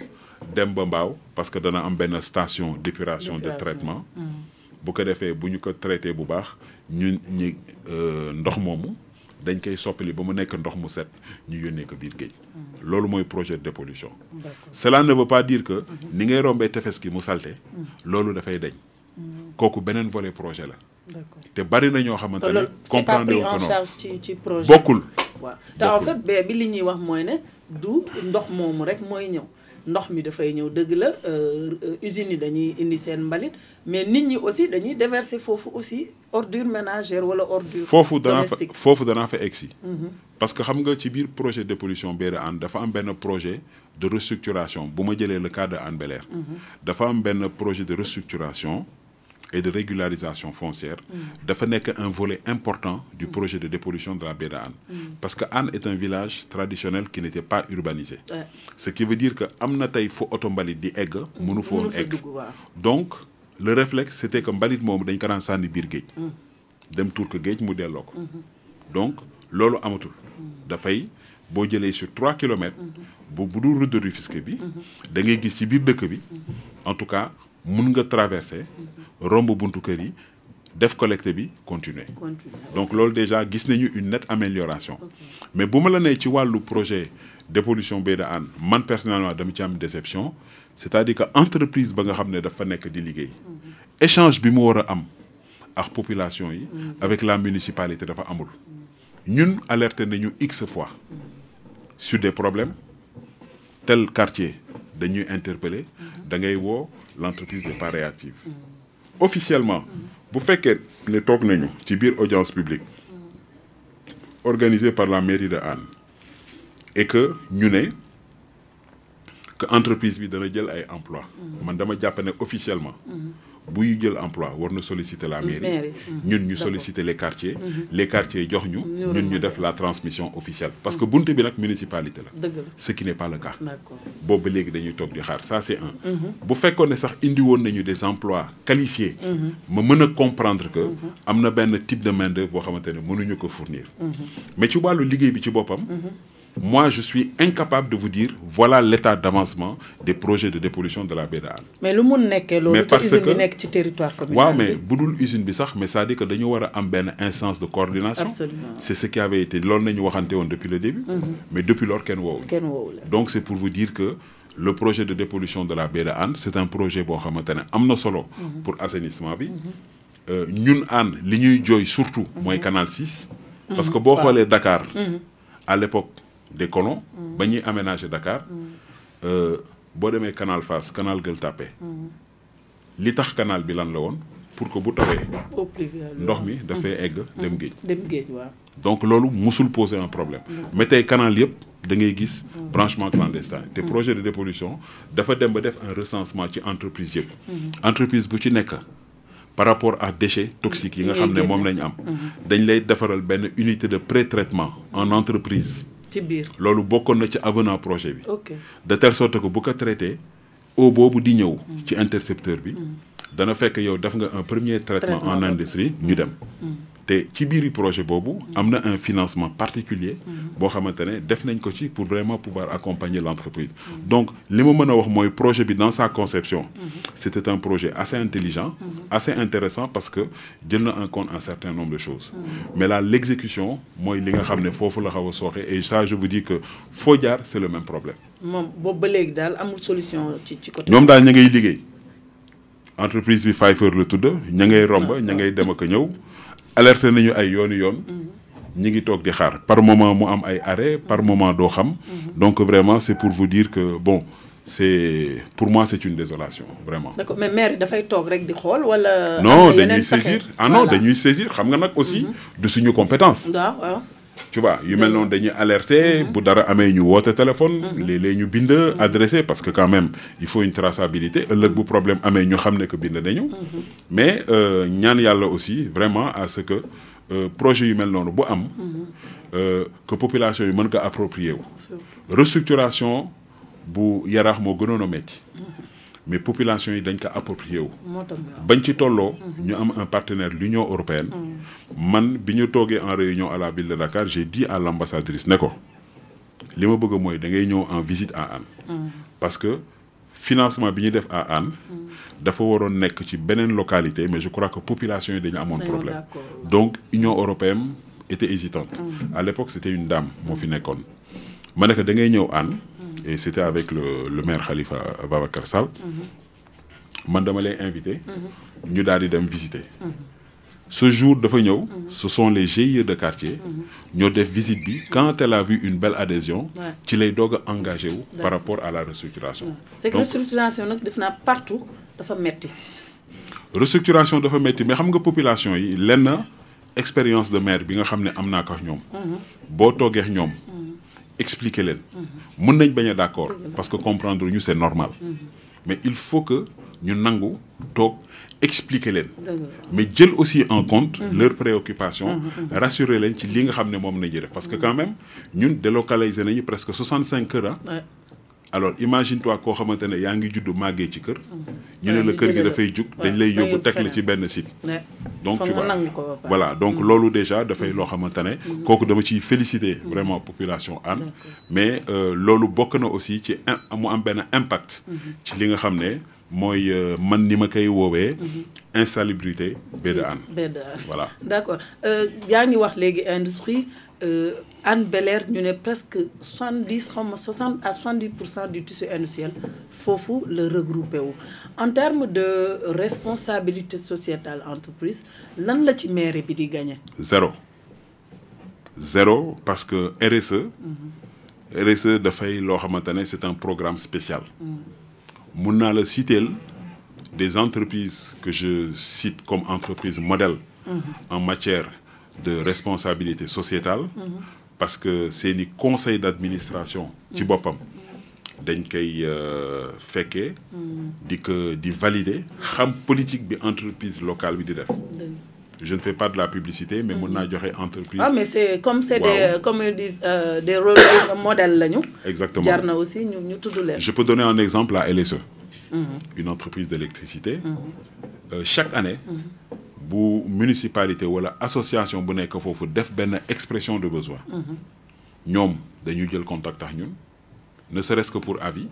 dem ba mbaaw parce que dana am benn station d'épuration de traitement bu ko defee bu ñu ko traité bu baax ñun ñi ndox moomu dañ koy soppali ba mu nekk ndox mu set ñu yónnee ko biir géej loolu mooy projet de dépollution. Cela ne veut pas dire que ni ngay rombee tefes gi mu salte loolu dafay dañ kooku beneen volet projet la. d'accord te bari na ñoo xamante ne comprendre c'est wu pas ko pris en noonu charge ci projet bokkul. waaw te en fait bee bi li ñuy wax mooy ne du ndox moomu rek mooy ñëw ndox mi dafay ñëw dëgg la usines yi dañuy indi seen mbalit mais nit ñi aussi dañuy déverser foofu aussi ordure ménagère wala ordure domestique. foofu danaa fa egsi parce que xam nga ci biir projet de dépollution biir Hann dafa am benn projet de restructuration bu ma jëlee le cas de Hann Bel-Air dafa am benn projet de restructuration et de régularisation foncière dafa nekk un volet important du projet de dépollution de la baie de Hann parce que Hann est un village traditionnel qui n'était pas urbanisé ce qui veut dire que am na tey fu oto mbalit di egg mënu fa woon egg donc le réflexe c'était que mbalit moomu dañ ko daan sànni biir géej dem tuur ko géej mu delloo ko donc loolu amatul dafay boo jëlee sur 3 kilomètres bu dul route de Rufisque bi da ngay gis ci biir dëkk bi en tout cas mun nga traverser romb buntu kër yi def collecte bi continuer donc loolu déjà gis nañu une nette amélioration mais bu ma la nee ci wàllu projet dépollution baie de Hann man personnellement dama ci am déception c'est-à-dire que entreprise ba nga xam ne dafa nekk di liggéey échange bi mu war a am ak population yi avec la municipalité dafa amul ñun alerté nañu x fois sur des problèmes tel quartier dañuy interpeller da ngay woo l'entreprise n'est pas réactive officiellement bu fekkee ne toog nañu ci biir audience publique organisée par la mairie de Hann et que ñu ne que entreprise bi dana jël ay emploi man dama jàpp ne officiellement buy jël emploi war na solliciter la mairie ñun ñu solliciter les quartiers les quartiers jox ñu ñun ñu def la transmission officielle parce que buntu bi nag municipalité la ce qui n'est pas le cas boobu ba léegi dañuy toog di xaar ça c'est un bu fekkoon ne sax indi woon nañu des emplois qualifiés ma mën a comprendre que am na benn type de main d'œuvre boo xamante ne mënuñu ko fournir mais ci wàllu liggéey bi ci boppam moi je suis incapable de vous dire voilà l'état d'avancement des projets de dépollution de la baie de Hann. mais lu mun nekkee loolu te usine bi nekk ci territoire communal. waaw mais bu dul usine bi sax mais c'est-à-dire que dañu war a am benn instance de coordination. Absolument. C'est ce qui avait été loolu nañu waxante woon depuis le début. mais depuis lors kenn woowul. donc c'est pour vous dire que le projet de dépollution de la baie de Hann c'est un projet boo xamante ne am na solo. pour assainissement bi. ñun Hann li ñuy jooy surtout. mooy canal 6. parce que boo xoolee Dakar. à l'époque des colons ba ñuy aménager Dakar boo demee canal Fass canal Gueule Tapée li tax canal bi lan la woon pour que bu tawee ndox mi dafay egg dem géej waaw donc loolu musul poser un problème mais tey canal yëpp da ngay gis branchement clandestin te projet de dépollution dafa dem ba def un recensement ci entreprise yëpp entreprise bu ci nekk par rapport à déchets toxiques yi nga xam ne moom lañu am dañ lay defaral benn unité de pré-traitement en entreprise ci biir loolu bokkoon na ci avenant projet bi de telle sorte que bu ko traité eau boobu di ñëw ci intercepteur bi dana fekk yow def nga un premier traitement en industrie ñu dem te ci biiri projet boobu am na un financement particulier boo xamante ne def nañ ko ci pour vraiment pouvoir accompagner l'entreprise donc li ma mën a wax mooy projet bi dans sa conception c'était un projet assez intelligent assez intéressant parce que jël na en compte un certain nombre de choses mais là l'exécution mooy li nga xam ne foofu la xaw a sooxe et ça je vous dis que foo jaar c'est le même problème moom boobu ba léegi daal amul solution ci côté ñoom daal ña ngay liggéey entreprise bi Pfeiffer la tudd ña ngay romb ña ngay dem ak a ñëw alerté nañu ay yoon ñi ngi toog di xaar par moment mu am ay arrêt par moment doo xam donc vraiment c'est pour vous dire que bon c'est pour moi c'est une désolation vraiment. d'accord mais maire yi dafay toog rek di xool wala. non dañuy saisir non dañuy saisir xam nga nag aussi de suñu compétence. waaw. tu vois yu mel noonu dañuy alerter bu dara amee ñu woote téléphone. léeg-léeg ñu bind adressé parce que quand même il faut une traçabilité ëllëg bu problème amee ñu xam ne que bind nañu. mais ñaan yàlla aussi vraiment à ce que projet yu mel noonu bu am. que population yi mën ko approprier wu. restructuration bu yaraax moo gënoon a metti mais population yi dañ ko approprié wu. bañ ci tolloo. ñu am un partenaire l'Union européenne. man bi ñu toogee en réunion à la ville de Dakar j'ai dit à l'ambassadrice ne ko li ma bëgg mooy da ngay ñëw en visite à Hann. parce que financement bi ñu def à Hann. dafa waroon nekk ci beneen localité mais je crois que population yi dañu amoon problème. donc Union européenne était hésitante. à l'époque c'était une dame moo fi nekkoon. ma ne ko da ngay ñëw Hann. et c'était avec le maire Khalifa Babacar Sall. man dama lay invité. ñu daal di dem visiter. ce jour dafa ñëw. ce sont les GIE de quartier. ñoo def visite bi quand elle a vu une belle adhésion. ci lay doog a engagé wu. par rapport à la restructuration. c'est que restructuration nag def naa partout dafa metti. restructuration dafa metti mais xam nga population yi lenn expérience de maire bi nga xam ne am naa ko ak ñoom. boo toogee ak ñoom. expliquer leen mën nañ bañ a d'accord parce que comprendre ñu c'est normal mais il faut que ñu nangu toog expliquer leen mais jël aussi en compte leurs préoccupations rassurer leen ci li nga xam ne moom nañu def parce que quand même ñun délocaliser nañu presque 65 kër alors imagine-toi koo xamante ne yaa ngi juddu màggee ci kër ñu ne la kër gi dafay jug dañ lay yóbbu teg la ci benn site donc tu vois voilà donc loolu déjà dafay loo xamante ne kooku dama ciy féliciter vraiment population Hann mais loolu bokk na aussi ci mu am benn impact ci li nga xam ne mooy man ni ma koy woowee insalubrité baie de Hann voilà d'accord yaa ngi wax léegi industrie Hann Bel-Air ñu ne presque 70 xaw ma 60 à 70% du tissu industriel foofu la regroupé wu en termes de responsabilité sociétale entreprise lan la ci mairie bi di gagné. zéro parce que RSE dafay loo xamante ne c'est un programme spécial. mun naa la citer des entreprises que je cite comme entreprises modèles. en matière de responsabilité sociétale. parce que seeni conseil d'administration ci boppam dañ koy fekkee di valider xam politique bi entreprise locale bi di def je ne fais pas de la publicité mais mën naa joxe entreprise mais c'est comme c'est des comme ils disent des rôles modèles lañu exactement jar na aussi ñu tudd leen. je peux donner un exemple à LSE une entreprise d'électricité chaque année bu municipalité wala association bu nekk foofu def benn expression de besoin ñoom dañuy jël contact ak ñun ne serait-ce que pour avis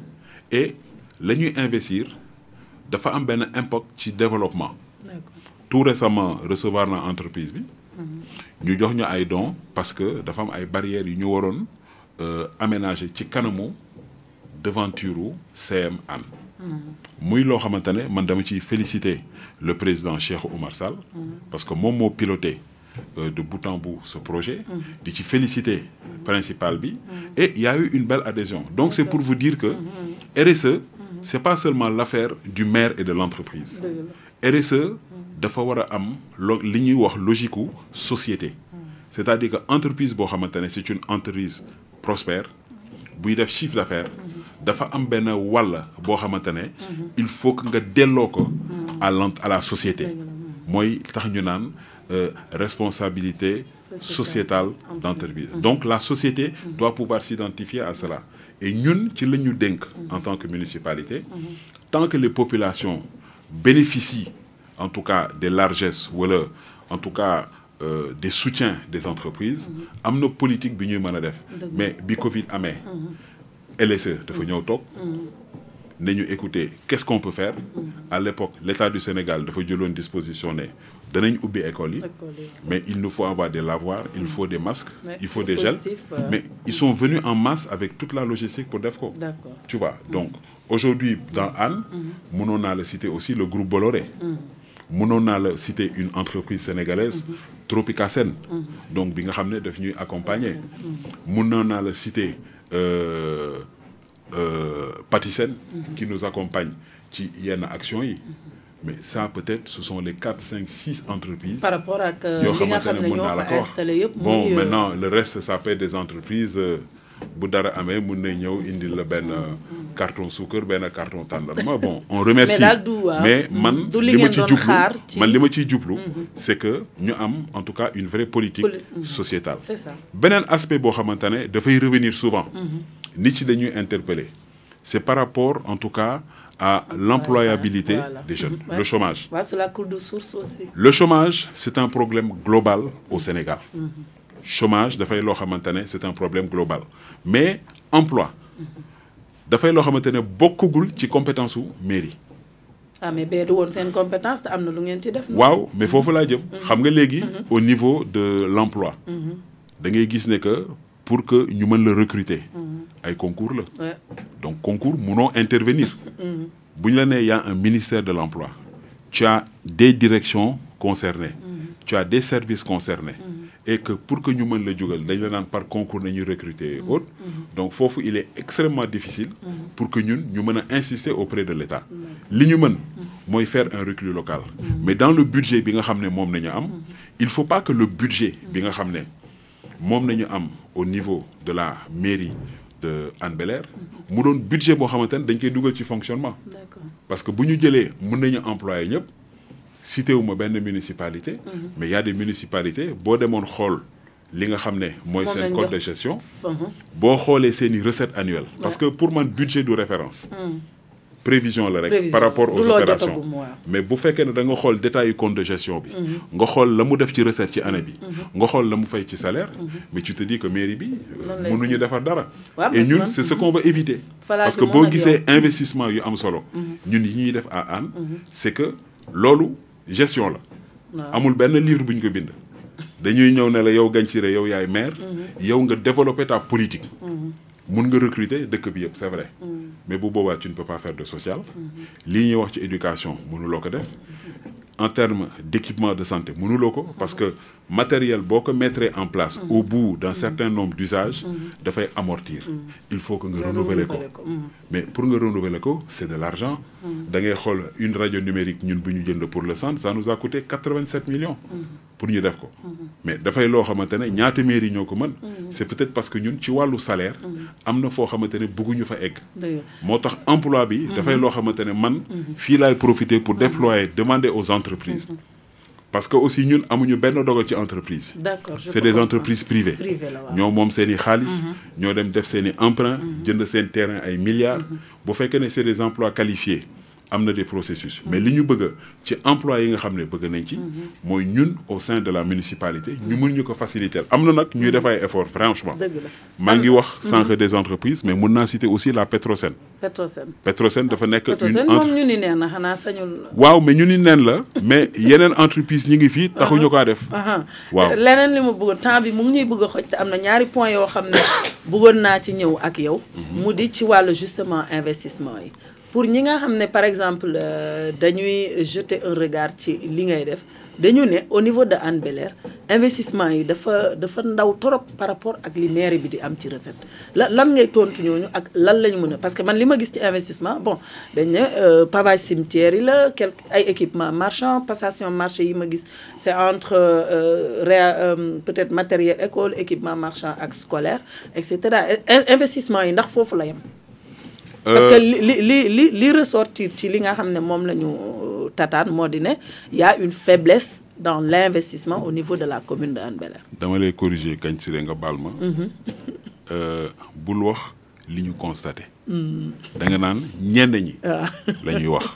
et la ñuy investir dafa am benn impact ci développement. tout récemment recevoir na entreprise bi ñu jox ñu ay dons parce que dafa am ay barrières yu ñu waroon aménager ci kanamu devanture CM Hann muy loo xamante ne man dama ciy féliciter le président Cheikh Oumar Sall parce que moom moo piloté de bout en bout ce projet di ci féliciter principal bi et il y a eu une belle adhésion donc c'est pour vous dire que RSE c'est pas seulement l'affaire du maire et de l'entreprise RSE dafa war a am li ñuy wax logique u société c'est-à-dire que entreprise boo xamante ne c'est une entreprise prospère buy def chiffre d'affaires dafa am benn wàll boo xamante ne il faut que nga delloo ko à la société mooy tax ñu naan responsabilité sociétale d'entreprise donc la société doit pouvoir s'identifier à cela et ñun ci la ñu dénk en tant que municipalité tant que les populations bénéficient en tout cas des largesses wala en tout cas des soutiens des entreprises am na politique bi ñuy mën a def mais bi Covid amee LSE dafa ñëw toog ne ñu écouter qu'est-ce qu'on peut faire à l'époque l'État du Sénégal dafa jëloon disposition ne danañ ubbi école yi mais il nous faut avoir des lavoirs il faut des masques il faut des gels mais ils sont venus en masse avec toute la logistique pour def ko tu vois donc aujourd'hui dans Hann mënoon naa la citer aussi le groupe Bolloré mënoon naa la citer une entreprise sénégalaise Tropicasen donc bi nga xam ne daf ñuy accompagner mënoon naa la citer Patisen qui nous accompagne ci yenn actions yi mais ça peut-être ce sont les 4, 5, 6 entreprises par rapport ak yoo li nga xamante xam ne ne mën ñoo naa la fa ko wax installé yëpp. bon muy, maintenant le reste ça peut être des entreprises bu dara amee mun na ñëw indil la benn carton suukar benn carton tàndarma bon on remercie mais daal du waaw mais man du li li ma ngeen ci doon jublu xaar ci man li ma ciy jublu c'est que ñu am en tout cas une vraie politique sociétale c'est ça. beneen aspect boo xamante ne dafay revenir souvent nit ci dañuy interpeller c'est par rapport en tout cas à l'employabilité Voilà. des jeunes Ouais. le chômage waaw c'est la cour de source aussi. le chômage c'est un problème global au Sénégal chômage dafay loo xamante ne c'est un problème global mais emploi dafay loo xamante ne bokkagul ci compétence su mairie ah mais bee du woon seen compétence te am na lu ngeen ci def. waaw mais foofu laa jëm xam nga léegi au niveau de l'emploi da ngay gis ne que pour que ñu mën la recruter ay concours la Ouais. donc concours munoo intervenir bu ñu la nee y a un ministère de l'emploi tu as des directions concernées tu as des services concernés et que pour que ñu mën la jógal dañ la naan par concours nañuy recruter et autres donc foofu il est extrêmement difficile pour que ñun ñu mën a insister auprès de l'État li ñu mën mooy faire un recul local mais dans le budget bi nga xam ne moom nañu am il faut pas que le budget bi nga xam ne moom nañu am au niveau de la mairie de Hann Bel-Air mu doon budget boo xamante ne dañ koy dugal ci fonctionnement D'accord. parce que bu ñu jëlee mën nañu employer ñëpp cité wu ma benn municipalité mais il y a des municipalités boo demoon xool li nga xam ne mooy Moom seen lañ code jox. de gestion Mhm. boo xoolee seen i recettes annuelles parce que pour man budget du référence prévision la rek Prévision. par rapport aux Du loo opérations jotagum, waaw. mais bu fekkee ne da nga xool détail yu compte de gestion bi nga xool la mu def ci recette ci année bi nga xool la mu fay ci salaire mais tu te dis que mairie bi Noonu lay mënuñu defar dara waaw, et ñun man- c'est ce qu'on veut éviter Falaa parce que jëm boo moom ak gisee yow. investissement yu am solo ñun yi ñuy def à Hann c'est que loolu gestion la Waaw. amul benn livre bu ñu ko bind dañuy ñëw ne la yow Gagne Siré yow yaay maire yow nga développer ta politique mun nga recruter dëkk bi yëpp c'est vrai mais bu boobaa tu ne peux pas faire de social lii ñuy wax ci éducation mënuloo ko def en termes d'équipement de santé mënuloo ko parce que matériel boo ko mettre en place au bout d'un certain nombre d'usages dafay amortir il faut que nga renouveler ko mais pour nga renouveler ko c'est de l'argent da ngay xool une radio numérique ñun bu ñu jënd pour le centre ça nous a coûté 87 millions pour ñu def ko mais dafay loo xamante ne ñaata mairie ñoo ko mën c'est peut-être parce que ñun ci wàllu salaire am na foo xamante ne bëgguñu fa egg Dëgg moo tax emploi bi dafay loo xamante ne man fii laay profiter pour déployer demander aux entreprises parce que aussi ñun amuñu benn dogal ci entreprise bi D'accord, je c'est peux des comprendre. entreprises privées Privé la waaw. ñoo moom seen i xaalis ñoo dem def seen i emprunt jënd seen terrain ay milliards bu fekkee ne c'est des emplois qualifiés am na des processus mais li ñu bëgg ci emploi yi nga xam ne bëgg nañ ci mooy ñun au sein de la municipalité ñu mën ñu ko faciliter am na nag ñuy def ay efforts franchement Dëgg la. maa ngi wax sànq des entreprises mais mun naa citer aussi la Petrosen Petrosen. Petrosen dafa nekk une Petrosen moom ñu ni nee na xanaa sañul. waaw mais ñu ni neen la mais yeneen entreprise ñi ngi fii taxuñu kaa def Aha. waaw leneen li ma bëggoon temps bi mu ngi ñuy bëgg a xoj te am na ñaari point yoo xam ne bëggoon naa ci ñëw ak yow. mu di ci wàllu justement investissement yi. pour ñi nga xam ne par exemple dañuy jeter un regard ci li ngay def dañu ne au niveau de Hann Bel-Air investissement yi dafa ndaw trop par rapport ak li mairie bi di am ci recette lan ngay tontu ñooñu ak lan la ñu mën a parce que man li ma gis ci investissement bon dañ ne pavage cimetière yi la quelque ay équipement marchand passation marché yi ma gis c'est entre peut-être matériel école équipement marchand ak scolaire et cetera investissement yi ndax foofu la yem. parce que li ressortir ci li nga xam ne moom la ñu tataan moo di ne y a une faiblesse dans l'investissement au niveau de la commune de Hann Bel-Air. dama lay corriger Gagne Siré nga baal ma. bul wax li ñu constaté. da nga naan ñenn ñi. la ñuy wax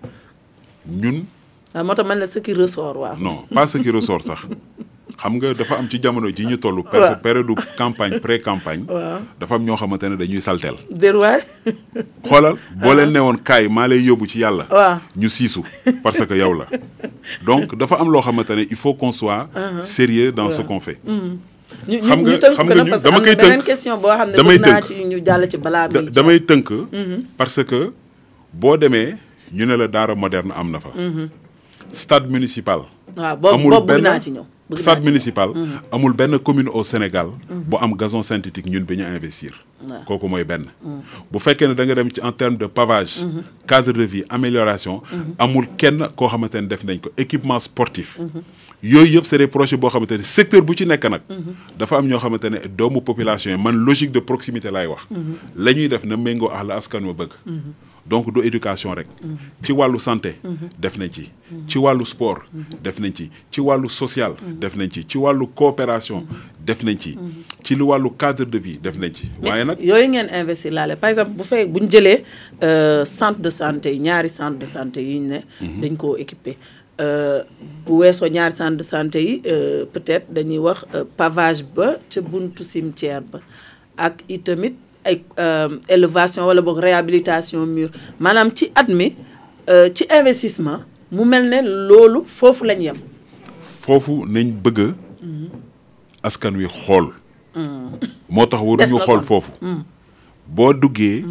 ñun. waaw moo tax man la ce qui ressort waaw. non pas ce qui ressort sax. xam nga dafa am ci jamono ji ñu toll. période campagne pré-campagne. dafa am ñoo xamante ne dañuy salteel. déroulé. xoolal boo leen newoon kaay maa lay yóbbu ci yàlla. waaw ñu siisu parce que yow la. donc dafa am loo xamante ne il faut qu'on soit sérieux dans ce qu'on fait. xam nga dama koy tënk beneen question boo xam ne bëgg naa ci ñu jàll ci balaa bi. damay tënk. parce que boo demee ñu ne la daara moderne am na fa. stade municipal. waaw boobu bëgg naa ci ñëw. stade municipal. amul benn commune au Sénégal. bu am gazon synthétique ñun bi ñu investir. kooku mooy benn. bu fekkee ne da nga dem ci en terme de pavage. cadre de vie amélioration. amul kenn koo xamante ne def nañ ko équipement sportif. yooyu yëpp c'est des projets boo xamante ne secteur bu ci nekk nag. dafa am ñoo xamante ne doomu population yi man logique de proximité laay wax. la ñuy def na méngoo ak la askan wa bëgg. donc du éducation rek. ci wàllu santé. def nañ ci. ci wàllu sport. def nañ ci wàllu social. def nañ ci wàllu coopération. def nañ ci lu wàllu cadre de vie def nañ ci. waaye nag yooyu ngeen investir laale par exemple bu ñu jëlee centre de santé yi ñaari centre de santé yi ñu ne. dañ koo équiper bu weesoo ñaari centre de santé yi peut-être dañuy wax pavage ba ca buntu cimetière ba ak itamit. ay élevation wala boog réhabilitation mur maanaam ci at mi ci investissement mu mel ne loolu foofu lañ yem. foofu nañ bëgg askan wi xool. moo tax waruñu xool foofu. boo duggee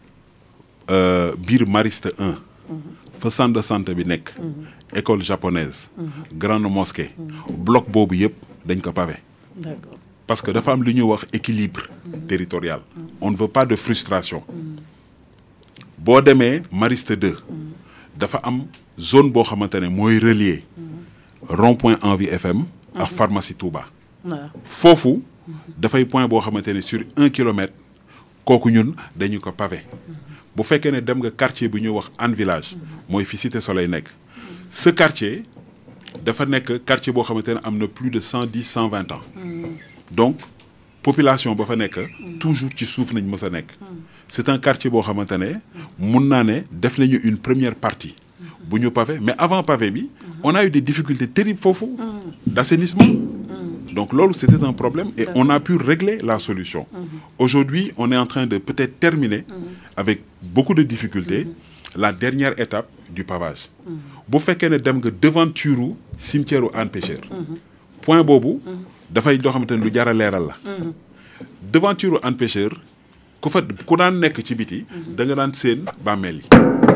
biir Mariste 1. fa centre de santé bi nekk. école japonaise. grande mosquée. bloc boobu yëpp dañ ko pavé. D'accord. Parce que dafa am lu ñuy wax équilibre territorial. On ne veut pas de frustration. boo demee Mariste 2. dafa am zone boo xamante ne mooy relier. rond-point Envie FM. ak pharmacie Touba. foofu dafay point boo xamante ne sur 1 kilomètre kooku ñun dañu ko pavé. bu fekkee ne dem nga quartier bu ñuy wax Hann Village. mooy fi Cité Soleil nekk. ce quartier dafa nekk quartier boo xamante ne am na plus de 110 120 ans. donc population ba fa nekk toujours ci suuf nañ mës a nekk. c'est un quartier boo xamante ne mun naa ne def nañu une première partie bu ñu pavé mais avant pavé bi on a eu des difficultés terribles foofu d'assainissement. donc loolu c'était un problème et on a pu régler la solution. Aujourd'hui on est en train de peut-être terminer avec beaucoup de difficultés la dernière étape du pavage. bu fekkee ne dem nga devanture cimetière u Hann Pêcheur. point boobu dafay loo xamante ne lu jar a leeral la. devanture Hann Pêcheur ku daan nekk ci biti. da nga daan seen bàmmeel yi.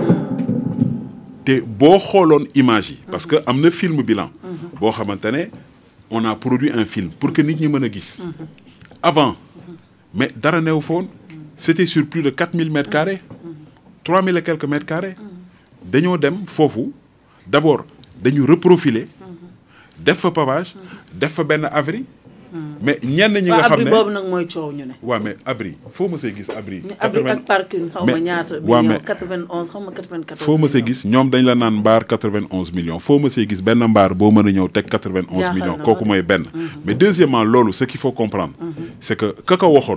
te boo xooloon image yi. parce que am na film bilan. boo xamante ne on a produit un film pour que nit ñi mën a gis. avant mais dara neew foon. c'était sur plus de 4000 mètres carrés. 3000 et quelques mètres carrés. dañoo dem foofu d'abord dañu reprofiler. def fa pavage def fa benn abri. mais ñenn ñi nga xam ne abri boobu nag mooy coow ñu ne. waaw mais abri foo ma see gis abri. abri ak parking xaw ma ñaata. waaw mais 91 xaw ma 94. foo ma see gis ñoom dañ la naan mbaar 91 millions foo ma see gis benn mbaar boo mën a ñëw teg 91 millions kooku mooy benn. mais deuxièmement loolu ce qu'il faut comprendre. c'est que ka ko waxoon.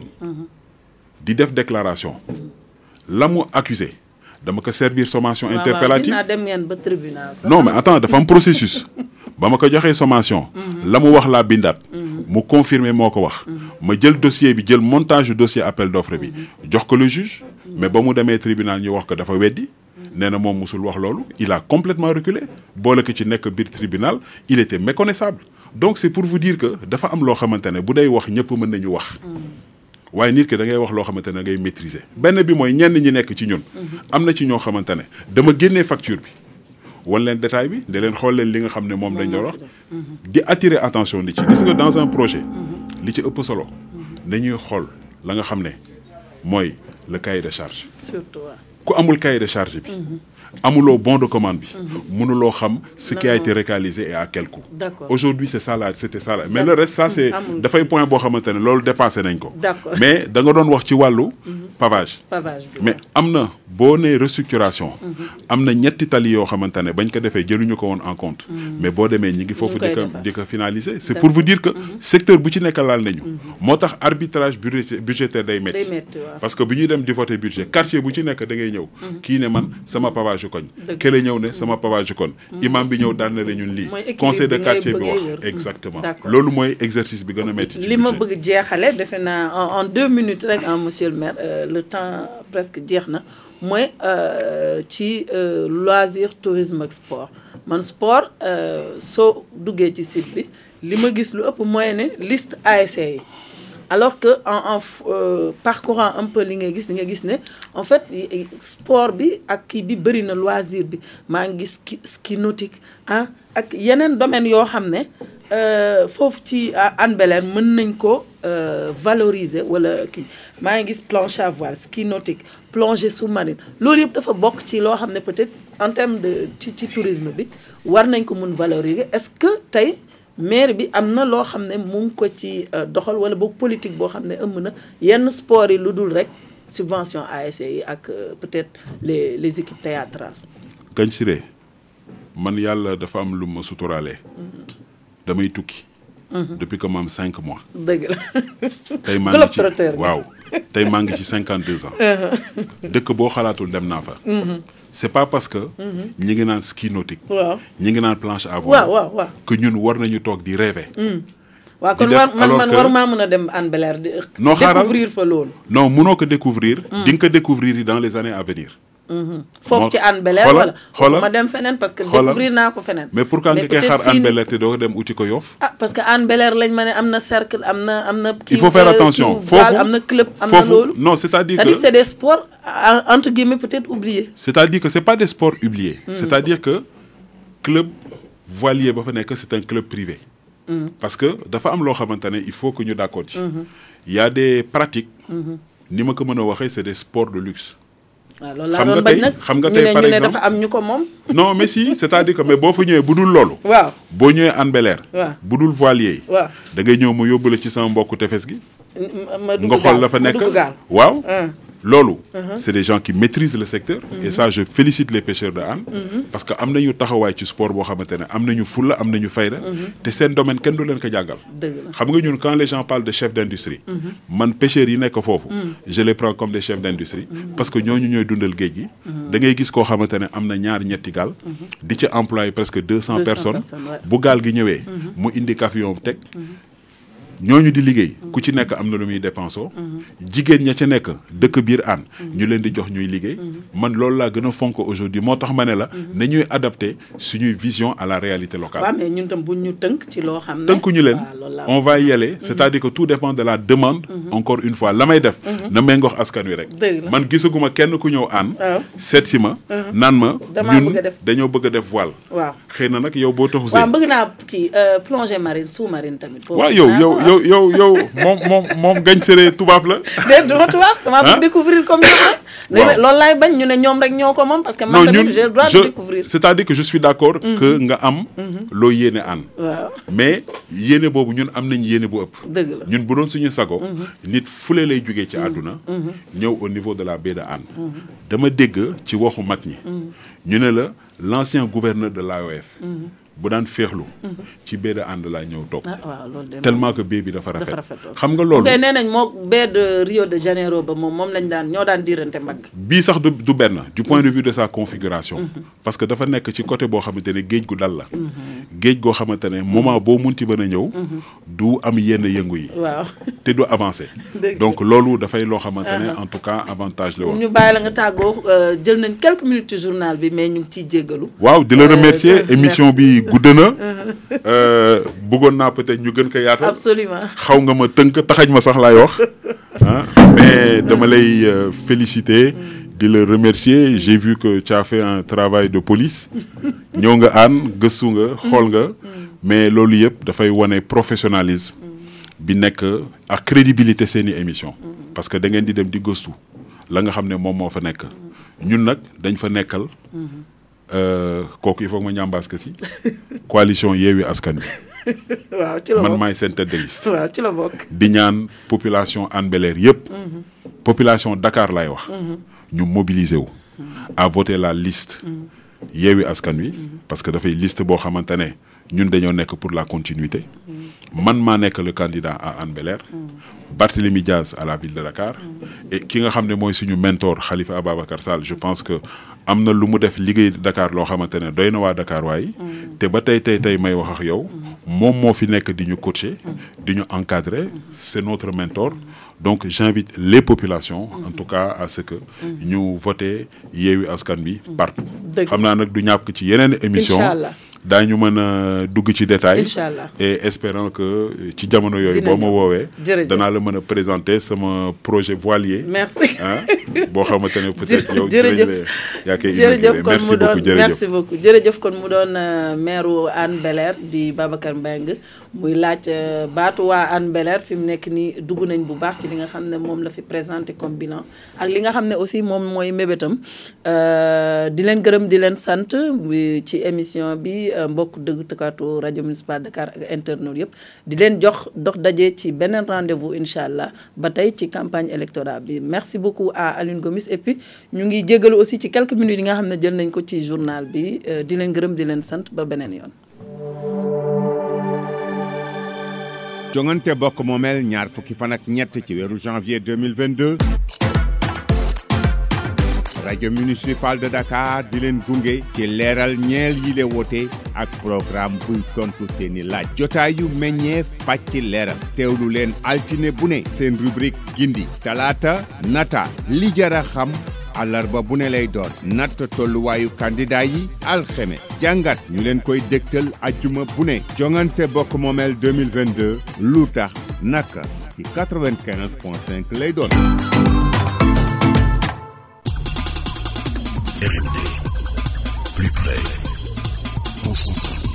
di def déclaration. la mu accusé dama ko servir sommation interpellative. waaw dem ngeen ba tribunal sax. non mais attends dafa am processus. ba ma ko joxee sommation. la mu wax laa bindaat. mu confirmer moo ko wax. ma jël dossier bi jël montage du dossier appel d'offre bi. jox ko le juge. mais ba mu demee tribunal ñu wax ko dafa weddi. nee na moom musul wax loolu. il a complètement reculé. boole ko ci nekk biir tribunal il était méconnaissable. donc c'est pour vous dire que dafa am loo xamante ne bu day wax ñëpp mën nañu wax. waaye nit ki da ngay wax loo xamante ne ngay maîtriser. benn bi mooy ñenn ñi nekk ci ñun. am na ci ñoo xamante ne dama génnee facture bi. wan leen détail bi da leen xool leen li nga xam ne moom lañ doon wax. di attirer attention nit ci gis nga dans un projet. li ci ëpp solo. nañuy xool la nga xam ne mooy le cahier de charge. surtout ku amul cahier de charge bi. amuloo bon de commande bi. mënuloo xam ce qui a été réalisé et à quel coût. D'accord. Aujourd'hui c'est ça là c'était ça là mais le reste ça c'est dafay point boo xamante ne loolu dépassé nañ ko. D'accord. mais da nga doon wax ci wàllu. pavage. pavage bi mais am na boo nee restructuration. am na ñetti tali yoo xamante ne bañ ko defee jëluñu ko woon en compte. mais boo demee ñi ngi foofu di ko finaliser. c'est pour vous dire que secteur bu ci nekk laal nañu. moo tax arbitrage budgétaire day métti. parce que bu ñuy dem di voter budget quartier bu ci nekk da ngay ñëw. kii ne man sama pavage koñ. kële ñëw ne sama pavage koñ. imam bi ñëw daan na la ñun lii. conseil de quartier bi wax exactement. loolu mooy exercice bi gën a métti. li ma bëgg jeexale defe naa en 2 minutes rek monsieur le maire le temps presque jeex na mooy ci loisir tourisme ak sport man sport soo duggee ci site bi li ma gis lu ëpp mooy ne liste ASC yi alors que en parcourant un peu li nga gis ne en fait sport bi ak kii bi bëri na loisir bi maa ngi gis ski nautique ah ak yeneen domaine yoo xam ne foofu ci Hann Bel-Air mën nañ ko valoriser wala kii maa ngi gis planche à voile ski nautique plongée sous-marine loolu yëpp dafa bokk ci loo xam ne peut-être en termes de ci tourisme bi war nañ ko mun valoriser est-ce que tey maire bi am na loo xam ne mu ngi ko ci doxal wala boog politique boo xam ne ëmb na yenn sport yi lu dul rek subvention ASC yi ak peut-être les équipes théâtrales. Gagne Siré man yàlla dafa am lu ma suturaalee. damay tukki. depuis que ma am 5 mois. dëgg la. tey maa ngi ci waaw tey maa ngi ci 52 ans. dëkk boo xalaatul dem naa fa. c'est pas parce que. ñi ngi naan ski nautique. waaw ñi ngi naan planche à voile. waaw que ñun war nañu toog di rêver. waaw kon man waruma mën a dem Hann Bel-Air di. non xaaral découvrir fa loolu. non mënoo ko découvrir. di nga ko découvrir dans les années à venir. foofu ci Hann Bel-Air wala ma dem feneen parce que découvrir naa ko feneen. mais pourquoi nga koy xaar Hann Bel-Air te doo dem uti ko Yoff. ah parce que Hann Bel-Air lañ ma ne am na cercle am na. il faut faire attention foofu am na club am na loolu. non c'est-à-dire que c'est des sports entre guillemets peut-être oubliés. c'est-à-dire que c'est pas des sports oubliés. c'est-à-dire que club voilier ba fa nekk c'est un club privé. parce que dafa am loo xamante ne il faut que ñu d'accord ci. il y a des pratiques. ni ma ko mën a waxee c'est des sports de luxe. waaw loolu laa doon bañ nag xam nga tey par ñu ne exemple dafa am ñu ko moom. non mais si c'est-à-dire que mais boo fa ñëwee bu dul loolu. waaw boo ñëwee Hann Bel-Air. waaw bu dul voilier. waaw da ngay ñëw mu yóbbu la ci sama mbokku tefes gi. ma dugg nga xool la fa nekk waaw. loolu. c'est des gens qui maîtrisent le secteur. et ça je félicite les pêcheurs de Hann. parce que am nañu taxawaay ci sport boo xamante ne am nañu fulla am nañu fayda. te seen domaine kenn du leen ko jàngal. xam nga ñun quand les gens parlent de chef d'industrie. man pêcheurs yi nekk foofu. je les prends comme des chefs d'industrie. parce que ñooñu ñooy dundal géej gi. da ngay gis koo xamante ne am na ñaar ñetti gaal. di ci employé presque 200 personnes. bu gaal gi ñëwee. mu indi camion teg. ñooñu di liggéey ku ci nekk am na lu muy dépensoo jigéen ña ca nekk dëkk biir Hann ñu leen di jox ñuy liggéey man loolu laa gën a fonk aujourd'hui moo tax ma ne la na ñuy adapter suñuy vision à la réalité locale. waaw mais ñun tam bu ñu tënk ci loo xam ne tënkuñu leen on va y aller c'est-à-dire que tout dépend de la demande encore une fois la may def na méngoox askan wi rek man gisaguma kenn ku ñëw Hann seet si ma naan ma ñun dañoo bëgg a def voile waaw xëy na nag yow boo taxu see waaw bëgg naa kii plongée marine sous-marine tamit waaw yow moom Gagne Siré tubaab la. déedéet dama tubaab damaa bëgg découvrir comme ñoom rek. loolu laay bañ ñu ne ñoom rek ñoo ko moom parce que man tamit j'ai le droit de découvrir. c'est-à-dire que je suis d'accord. que nga am. loo yéene Hann. waaw mais yéene boobu ñun am nañ yéene bu ëpp. dëgg la ñun bu doon suñu sago. nit fule lay jógee ci àdduna. ñëw au niveau de la baie de Hann. dama dégg ci waxu mag ñi. ñu ne la l'ancien gouverneur de l'AOF. bu daan féexlu. ci baie de Hann laa ñëw toog. waaw loolu de tellement que baie bi dafa rafet. xam nga loolu. nee nañ moo baie de Rio de Janeiro ba moom lañ daan ñoo daan diirante mbagg. bii sax du benn du point de vue de sa configuration. parce que dafa nekk ci côté boo xamante ne géej gu dal la. géej goo xamante ne moment boo munti mën a ñëw. du am yenn yëngu yi. waaw te du avancer. donc loolu dafay loo xamante ne en tout cas avantage la woon. ñu bàyyi la nga tàggoo jël nañ quelques minutes ci journal bi mais ñu ngi ciy jéggalu. waaw di la remercier émission bi. gudd na bëggoon naa peut-être ñu gën ko yaatal. absolument xaw nga ma tënk taxañ ma sax laay wax mais dama lay féliciter di la remercier j'ai vu que tu as fait un travail de police ñëw nga Hann gëstu nga xool nga mais loolu yëpp dafay wane professionnalisme bi nekk ak crédibilité seeni émission parce que da ngeen di dem di gëstu la nga xam ne moom moo fa nekk ñun nag dañ fa nekkal. kooku il faut que ma ñambaas que si coalition Yewwi Askan Wi. waaw ci la bokk man maay seen tête de liste. waaw ci la bokk. di ñaan population Hann Bel-Air yëpp. population Dakar laay wax. ñu mobiliser wu. à voter la liste. Yewwi Askan Wi. parce que dafay liste boo xamante ne ñun dañoo nekk pour la continuité. man maa nekk le candidat à Hann Bel-Air. Barthélémy Diaz à la ville de Dakar. et ki nga xam ne mooy suñu mentor Khalifa Ababacar Sall je pense que am na lu mu def liggéey Dakar loo xamante ne doy na waa Dakar waaye. te ba tey may wax ak yow. moom moo fi nekk di ñu coacher. di ñu encadrer c'est notre mentor. donc j'invite les populations. en tout cas à ce que. ñu voter Yewwi Askan Wi partout. xam naa nag du ñàkk ci yeneen émission daañu mën a dugg ci détail Inch'Allah. et espérant que ci jamono yooyu boo ma woowee danaa la mën a présenter sama projet voilier. merci boo xamante ne peut-être yow yaa koy jërëjëf kon mu doon merci beaucoup jërëjëf kon mu doon maire Hann Bel-Air di Babacar Mbengue muy laaj baatu waa Hann Bel-Air fi mu nekk nii dugg nañ bu baax ci li nga xam ne moom la fi présenté comme bilan ak li nga xam ne aussi moom mooy mébétam di leen gërëm di leen sant ci émission bi mbokk déglukat rajo municipal Dakar ak internautes yëpp di leen jox dox daje ci beneen rendez-vous incha allah ba tey ci campagne électorale bi merci beaucoup à Aline Gomis et puis ñu ngi jégalu aussi ci quelques minutes yi nga xam ne jël nañ ko ci journal bi di leen gërëm di leen sant ba beneen yoon. jongante bokk moomeel ñaar fukki fan ak ñett ci weeru janvier 2022 rajo municipal de Dakar di leen gunge ci leeral ñeel yi le wote ak programme buy tontu seeni laaj jotaay yu meññeef pàcc leeral teewlu leen altine bu ne seen rubrique gindi talaata nata li jara xam àllarba bu ne lay doon natt tolluwaayu candidat yi alxemes jàngat ñu leen koy dégtal ajjuma bu ne jongante bokk moomeel 2022 lu tax naka ci 95.5 lay doon. RMD, plus près, concentré.